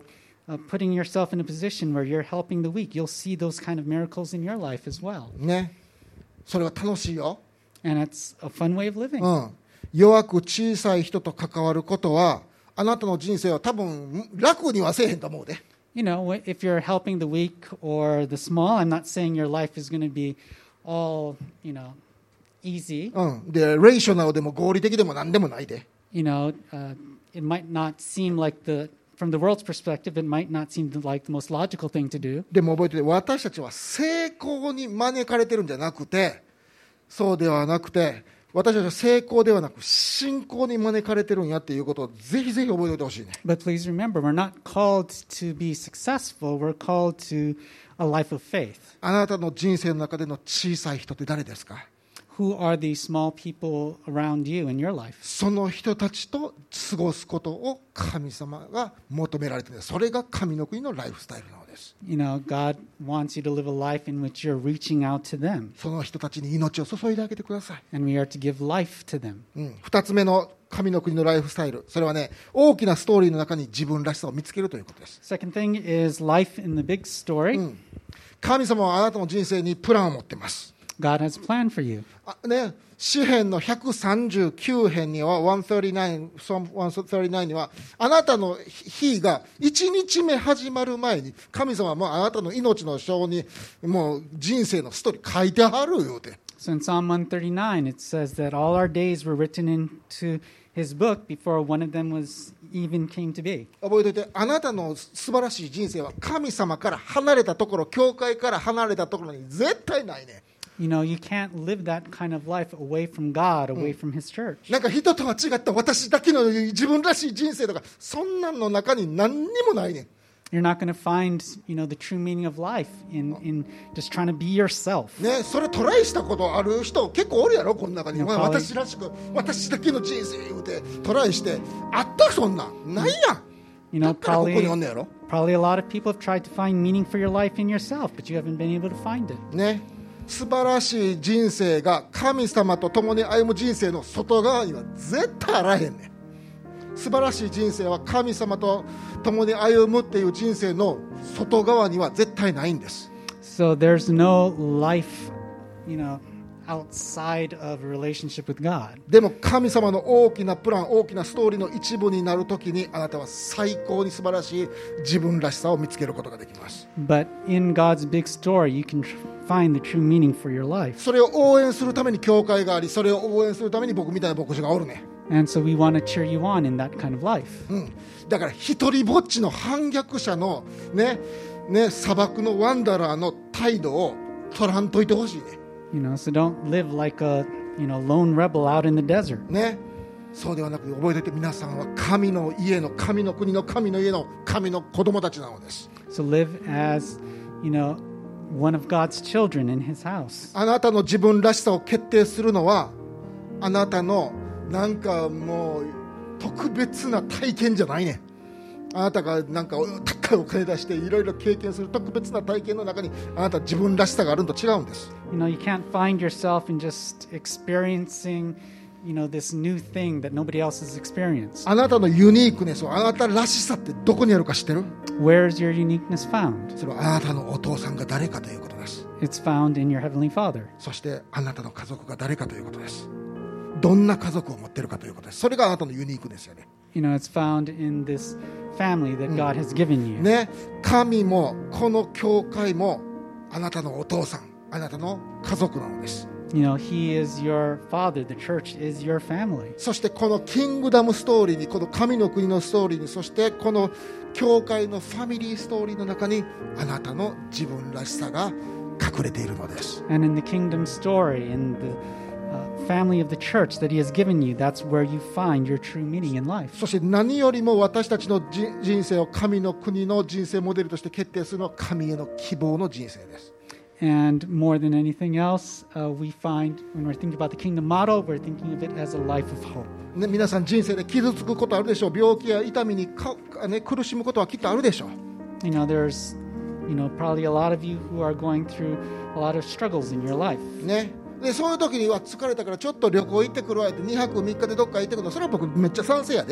uh, putting yourself in a position where you're helping the weak, you'll see those kind of miracles in your life as well. ね、それは楽しいよ。 And it's a fun way of living. うん、弱く小さい人と関わることはあなたの人生は多分楽にはせえへんと思うで。 You know, if you're helping the weak or the small, I'm not saying your life is going to be all, you know, easy. うん、でレーショナルでも合理的でも何でもないで。 You know, uh, it might not seem like the, from the world's perspective, it might not seem like the most logical thing to do. でも覚えてて、私たちは成功に招かれてるんじゃなくて、そうではなくて、私たちは成功ではなく信仰に招かれてるんやっていうことをぜひぜひ覚えておいてほしいね。 But please remember, we're not called to be successful. We're called to a life of faith. あなたの人生の中での小さい人って誰ですか？ Who are these small people around you in your life? その人たちと過ごすことを神様が求められている。それが神の国のライフスタイルなのです。 You know, God wants you to live a life in which you're reaching out to them. その人たちに命を注いであげてください。 And we are to give life to them. うん、二つ目の神の国のライフスタイル、それはね、大きなストーリーの中に自分らしさを見つけるということです。 Second thing is life in the big story. うん、神様はあなたの人生にプランを持っています。 God has a plan for you. あね、詩編のひゃくさんじゅうきゅう編にはひゃくさんじゅうきゅう、Psalm ひゃくさんじゅうきゅうにはあなたの日がいちにちめ始まる前に神様はもうあなたの命の章にもう人生のストーリー書いてはる言うて。 So in Psalm one thirty-nine, it says that all our days were written into his book before one of them was even came to be. 覚えておいて、あなたの素晴らしい人生は神様から離れたところ、教会から離れたところに絶対ないね。 You know, you can't live that kind of life away from God, away from his church. なんか人とは違った私だけの自分らしい人生とかそんなんの中に何にもないねん。 You're not going to find, you know, the true meaning of life in, in just trying to be yourself. ね、それトライしたことある人結構おるやろこの中に。 いやまあ私らしく私だけの人生言うてトライしてあったそんなんないやん。 You だ know, からここに probably, おんねやろ。 probably a lot of people have tried to find meaning for your life in yourself, but you haven't been able to find it. ね、素晴らしい人生が神様と共に歩む人生の外側には絶対あらへんねん。素晴らしい人生は神様と共に歩むっていう人生の外側には絶対ないんです。 So there's no life, you know, outside of a relationship with God. でも神様の大きなプラン、大きなストーリーの一部になるときにあなたは最高に素晴らしい自分らしさを見つけることができます。 But in God's big story, you can tr- find the true meaning for your life. それを応援するために教会があり、それを応援するために僕みたいな牧師がおるね。 And so we want to cheer you on in that kind of life. うん、だから一人ぼっちの反逆者のね、ね、砂漠のワンダラーの態度を取らんといてほしいね。 You know, so don't live like a, you know, lone rebel out in the desert. ね、そうではなく覚えておいて、皆さんは神の家の神の国の神の家の神の子供たちなのです。 So live as, you know, one of God's children in his house. あなたの自分らしさを決定するのはあなたのなんかもう特別な体験じゃないね。あなたがなんか高いお金出していろいろ経験する特別な体験の中にあなた自分らしさがあるのと違うんです。 You know, you can't find yourself in just experiencing, you know, this new thing that nobody else has experienced. あなたのユニークネスを、あなたらしさってどこにあるか知ってる？ Where is your uniqueness found? それはあなたのお父さんが誰かということです。 It's found in your Heavenly Father. そしてあなたの家族が誰かということです。どんな家族を持っているかということです。それがあなたのユニークですよね。 You know, it's found in this family that God has given you. ね、神もこの教会もあなたのお父さん、あなたの家族なのです。 You know, He is your father. The church is your family. そしてこのキングダムストーリーに、この神の国のストーリーに、そしてこの教会のファミリーストーリーの中にあなたの自分らしさが隠れているのです。 And in the kingdom story, in the uh, family of the church that He has given you, that's where you find your true meaning in life. そして何よりも私たちのじ人生を神の国の人生モデルとして決定するのは神への希望の人生です。 And more than anything else, uh, we find when we're thinking about the kingdom model, we're thinking of it as a life of hope. ね、皆さん人生で傷つくことあるでしょう。病気や痛みにか、ね、苦しむことはきっとあるでしょう。 You know, there's, you know, probably a lot of you who are going through a lot of struggles in your life. ね、でそういう時には疲れたからちょっと旅行行ってくるわってにはくみっかでどっか行ってくるの、それは僕めっちゃ賛成やで。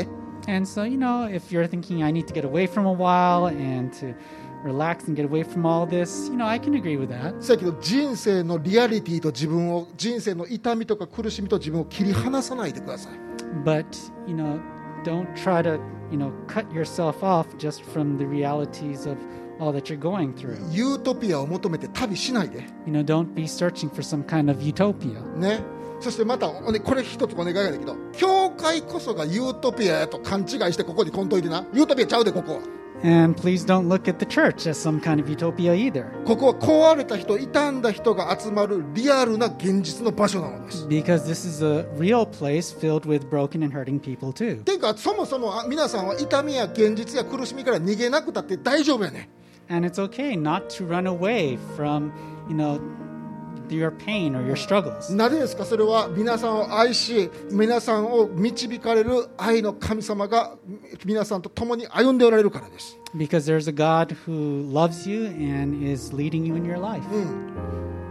And so, you know, if you're thinking I need to get away from a while and to relax and get away from all this, you know, I can agree with that. せやけど人生のリアリティと自分を、人生の痛みとか苦しみと自分を切り離さないでください。 But, you know, don't try to, you know, cut yourself off just from the realities of all that you're going through. ユートピアを求めて旅しないで。 You know, don't be searching for some kind of utopia. ね。そしてまたこれ一つお願いがだけど、教会こそがユートピアやと勘違いしてここにこんといてな。ユートピアちゃうでここは。 And please don't look at the church as some kind of utopia either. ここは壊れた人、傷んだ人が集まるリアルな現実の場所なのです。 Because this is a real place filled with broken and hurting people too. ていうかそもそも皆さんは痛みや現実や苦しみから逃げなくたって大丈夫やね。 And it's okay not to run away from, you know, your pain or your struggles. なぜですか？それは皆さんを愛し、皆さんを導かれる愛の神様が皆さんと共に歩んでおられるからです。 Because there's a God who loves you and is leading you in your life. うん、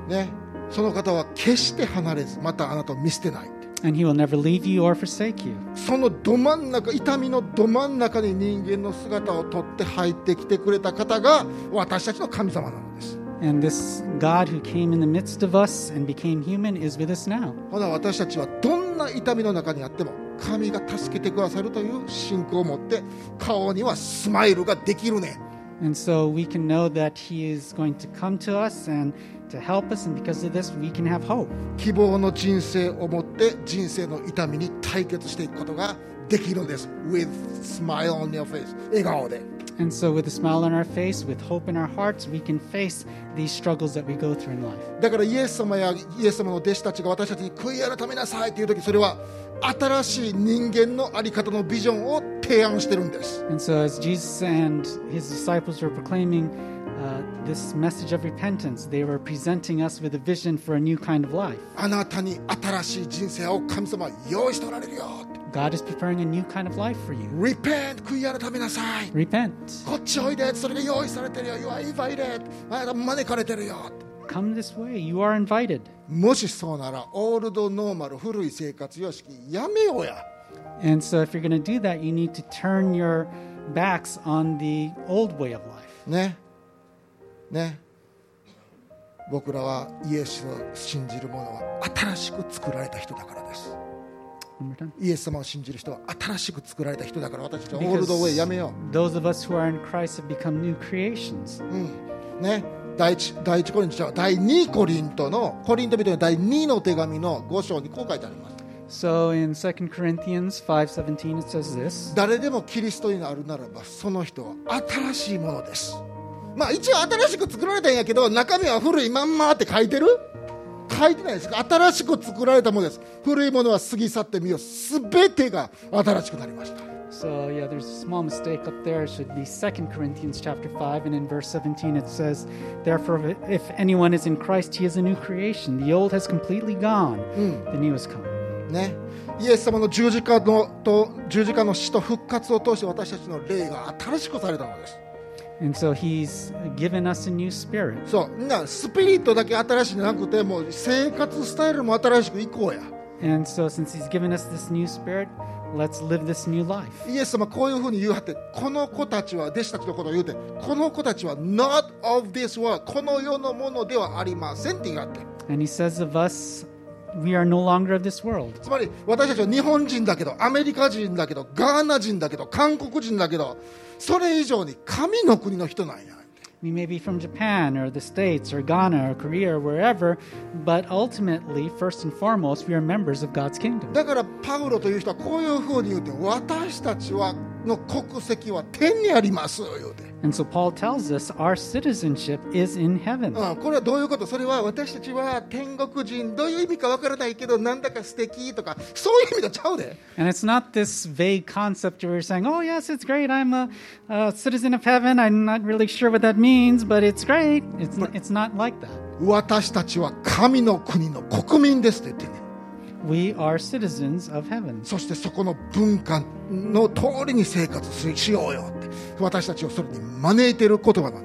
ね、その方は決して離れず、またあなたを見捨てない。 And he will never leave you or forsake you. そのど真ん中、痛みのど真ん中に人間の姿をとって入ってきてくれた方が私たちの神様なのです。 And this God who came in the midst of us and became human is with us now. ほな私たちはどんな痛みの中にあっても神が助けてくださるという信仰を持って顔にはスマイルができるね。 And so we can know that he is going to come to us and to help us, and because of this we can have hope. 希望の人生を持って人生の痛みに対決していくことができるんです。With smile on your face. 笑顔で。 And so with a smile on our face, with hope in our hearts, we can face these struggles that we go through in life. だからイエス様やイエス様の弟子たちが私たちに悔い改めなさいというとき、それは新しい人間の在り方のビジョンを提案してるんです。 And so as Jesus and his disciples were proclaiming uh, this message of repentance, they were presenting us with a vision for a new kind of life. あなたに新しい人生を神様は用意しておられるよ。 God is preparing a new kind of life for you. Repent, 悔い改めなさい。 Repent. こっちおいで、それが用意されてるよ。You are invited. あなた招かれてるよ。 Come this way. You are invited. もしそうなら、オールドノーマル、古い生活様式やめようや。 And so if you're going to do that, you need to turn your backs on the old way of life. ね。ね。僕らはイエスを信じる者は新しく作られた人だからです。イエス様を信じる人は新しく作られた人だから、私たちはオールドウェイやめよう。 Those of us who are in Christ have become new creations. うん、ね、第一第一コリントじゃ第二コリントのコリント人の第二の手紙のご章にこう書いてあります。 So in Second Corinthians five seventeen it says this. 誰でもキリストになるならばその人は新しいものです。まあ一応新しく作られたんやけど中身は古いまんまって書いてる？書いてないですか？新しく作られたものです。古いものは過ぎ去ってみよう。すべてが新しくなりました。 So yeah, there's a small mistake up there. It should be Second Corinthians chapter five, and in verse seventeen it says, "Therefore, if anyone is in Christ, he is a new creation. The old has completely gone; the new has come." ね、イエス様の十字架のと十字架の死と復活を通して私たちの霊が新しくされたのです。 And so he's given us a new spirit. そう、なスピリットだけ新しいんじゃなくて、もう生活スタイルも新しくいこうや。 And so since he's given us this new spirit, let's live this new life. イエス様こういうふうに言うはって、この子たちは弟子たちのことを言うて、この子たちは not of this world、この世のものではありませんって言うはって。 And he says of us, we are no longer of this world. つまり私たちは日本人だけど、アメリカ人だけど、ガーナ人だけど、韓国人だけど、それ以上に神の国の人なんや。 We may be from Japan or the States or Ghana or Korea or wherever, but ultimately, first and foremost, we are members of God's kingdom. だからパウロという人はこういうふうに言うて、私たちはの国籍は天にあります言うて。 And so Paul tells us our citizenship is in heaven. うん、これはどういうこと？それは私たちは天国人、どういう意味かわからないけどなんだか素敵とかそういう意味とちゃうで。 And it's not this vague concept where you're saying, oh yes, it's great, I'm a, a citizen of heaven, I'm not really sure what that means, but it's great. It's, it's not like that. 私たちは神の国の国民ですって言ってね。 We are citizens of heaven. そしてそこの文化の通りに生活しようよって私たちをそれに招いている言葉なんです。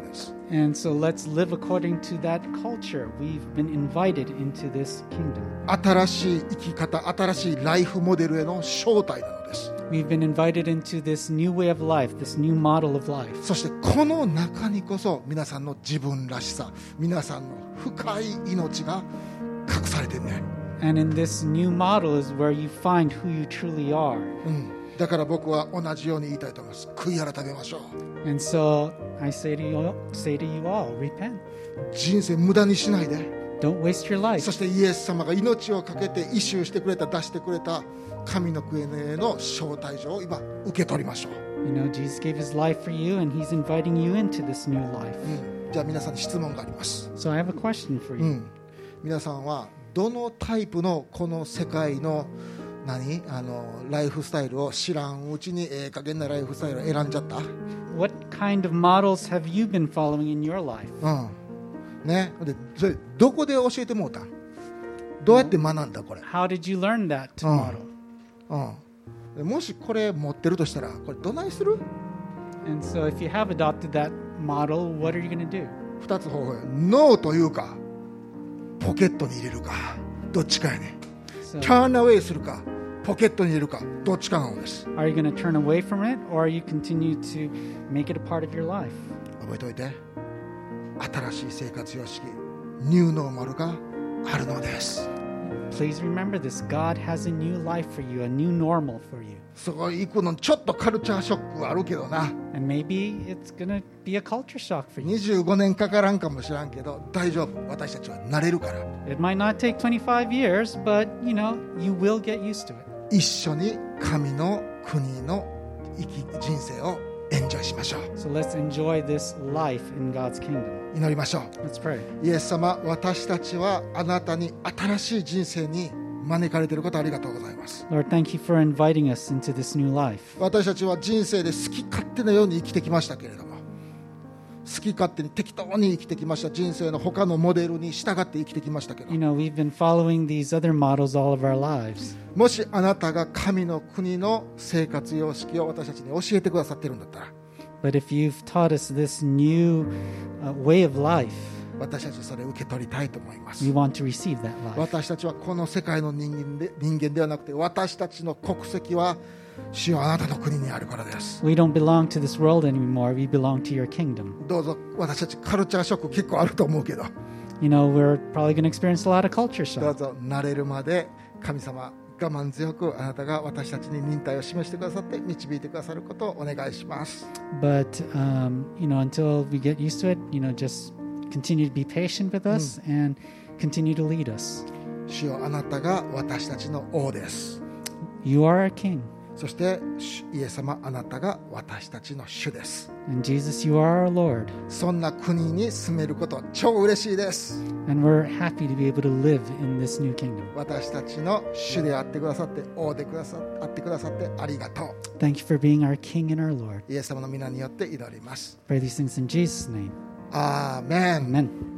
And so let's live according to that culture. We've been invited into this kingdom. 新しい生き方、新しいライフモデルへの招待なのです。 We've been invited into this new way of life, this new model of life. そしてこの中にこそ皆さんの自分らしさ、皆さんの深い命が隠されてるね。 And in this new model is where you find who you truly are. うん、だから僕は同じように言いたいと思います。悔い改めましょう。 And so I say to you, say to you all, repent. 人生無駄にしないで。 Don't waste your life. そしてイエス様が命をかけてイシューしてくれた、出してくれた神の国への招待状を今受け取りましょう。 You know, Jesus gave his life for you and he's inviting you into this new life. うん、じゃあ皆さんに質問があります。 So I have a question for う you. ん、皆さんはどのタイプのこの世界の何あのライフスタイルを知らんうちにええ加減なライフスタイルを選んじゃった？ What kind of models have you been following in your life? うんね、でそれどこで教えてもうたん？どうやって学んだこれ？ How did you learn that うん model? うん、もしこれ持ってるとしたらこれどないする？ And so if you have adopted that model, what are you going to do? 二つ方法や。ノーというかポケットに入れるかどっちかやね。 So ターンアウェイするかポケットに入れるかどっちかなのです。 are you going to turn away from it or are you continue to make it a part of your life? 覚えておいて、新しい生活様式ニューノーマルがあるのです。 Please remember this. God has a new life for you, a new normal for you. そこ行くのちょっとカルチャーショックはあるけどな。 And maybe it's going to be a culture shock for you. にじゅうごねんかからんかもしらんけど大丈夫、私たちは慣れるから。 It might not take twenty-five years, but you know, you will get used to it. 一緒に神の国の生き人生をエンジョイしましょう。 So let's enjoy this life in God's kingdom. 祈りましょう。 Let's pray. イエス様、私たちはあなたに新しい人生に招かれていることありがとうございます。 Lord, thank you for inviting us into this new life. 私たちは人生で好き勝手なように生きてきましたけれども、好き勝手に適当に生きてきました。人生の他のモデルに従って生きてきましたけど、 You know, we've been following these other models all of our lives. もしあなたが神の国の生活様式を私たちに教えてくださっているんだったら、 But if you've taught us this new uh, way of life, 私たちそれを受け取りたいと思います。 we want to receive that life. 私たちはこの世界の人間で、人間ではなくて、私たちの国籍は主よあなたの国にあるからです。 We don't belong to this world anymore. We belong to your kingdom. どうぞ、私たちカルチャーショック結構あると思うけど、 You know, we're probably going to experience a lot of culture どう shock. ぞ慣れるまで神様我慢強くあなたが私たちに忍耐を示してくださって導いてくださることをお願いします。 But, um, you know, until we get used to it, you know, just continue to be patient with us and continue to lead us. 主よあなたが私たちの王です。 You are our king. そしてイエス様あなたが私たちの主です。 And Jesus, you are our Lord. そんな国に住めること超嬉しいです。 And we're happy to be able to live in this new kingdom. 私たちの主であってくださって王でくださあってくださってありがとう。 Thank you for being our king and our Lord. イエス様の皆によって祈ります。 Pray these things in Jesus' name. アーメン。 Amen.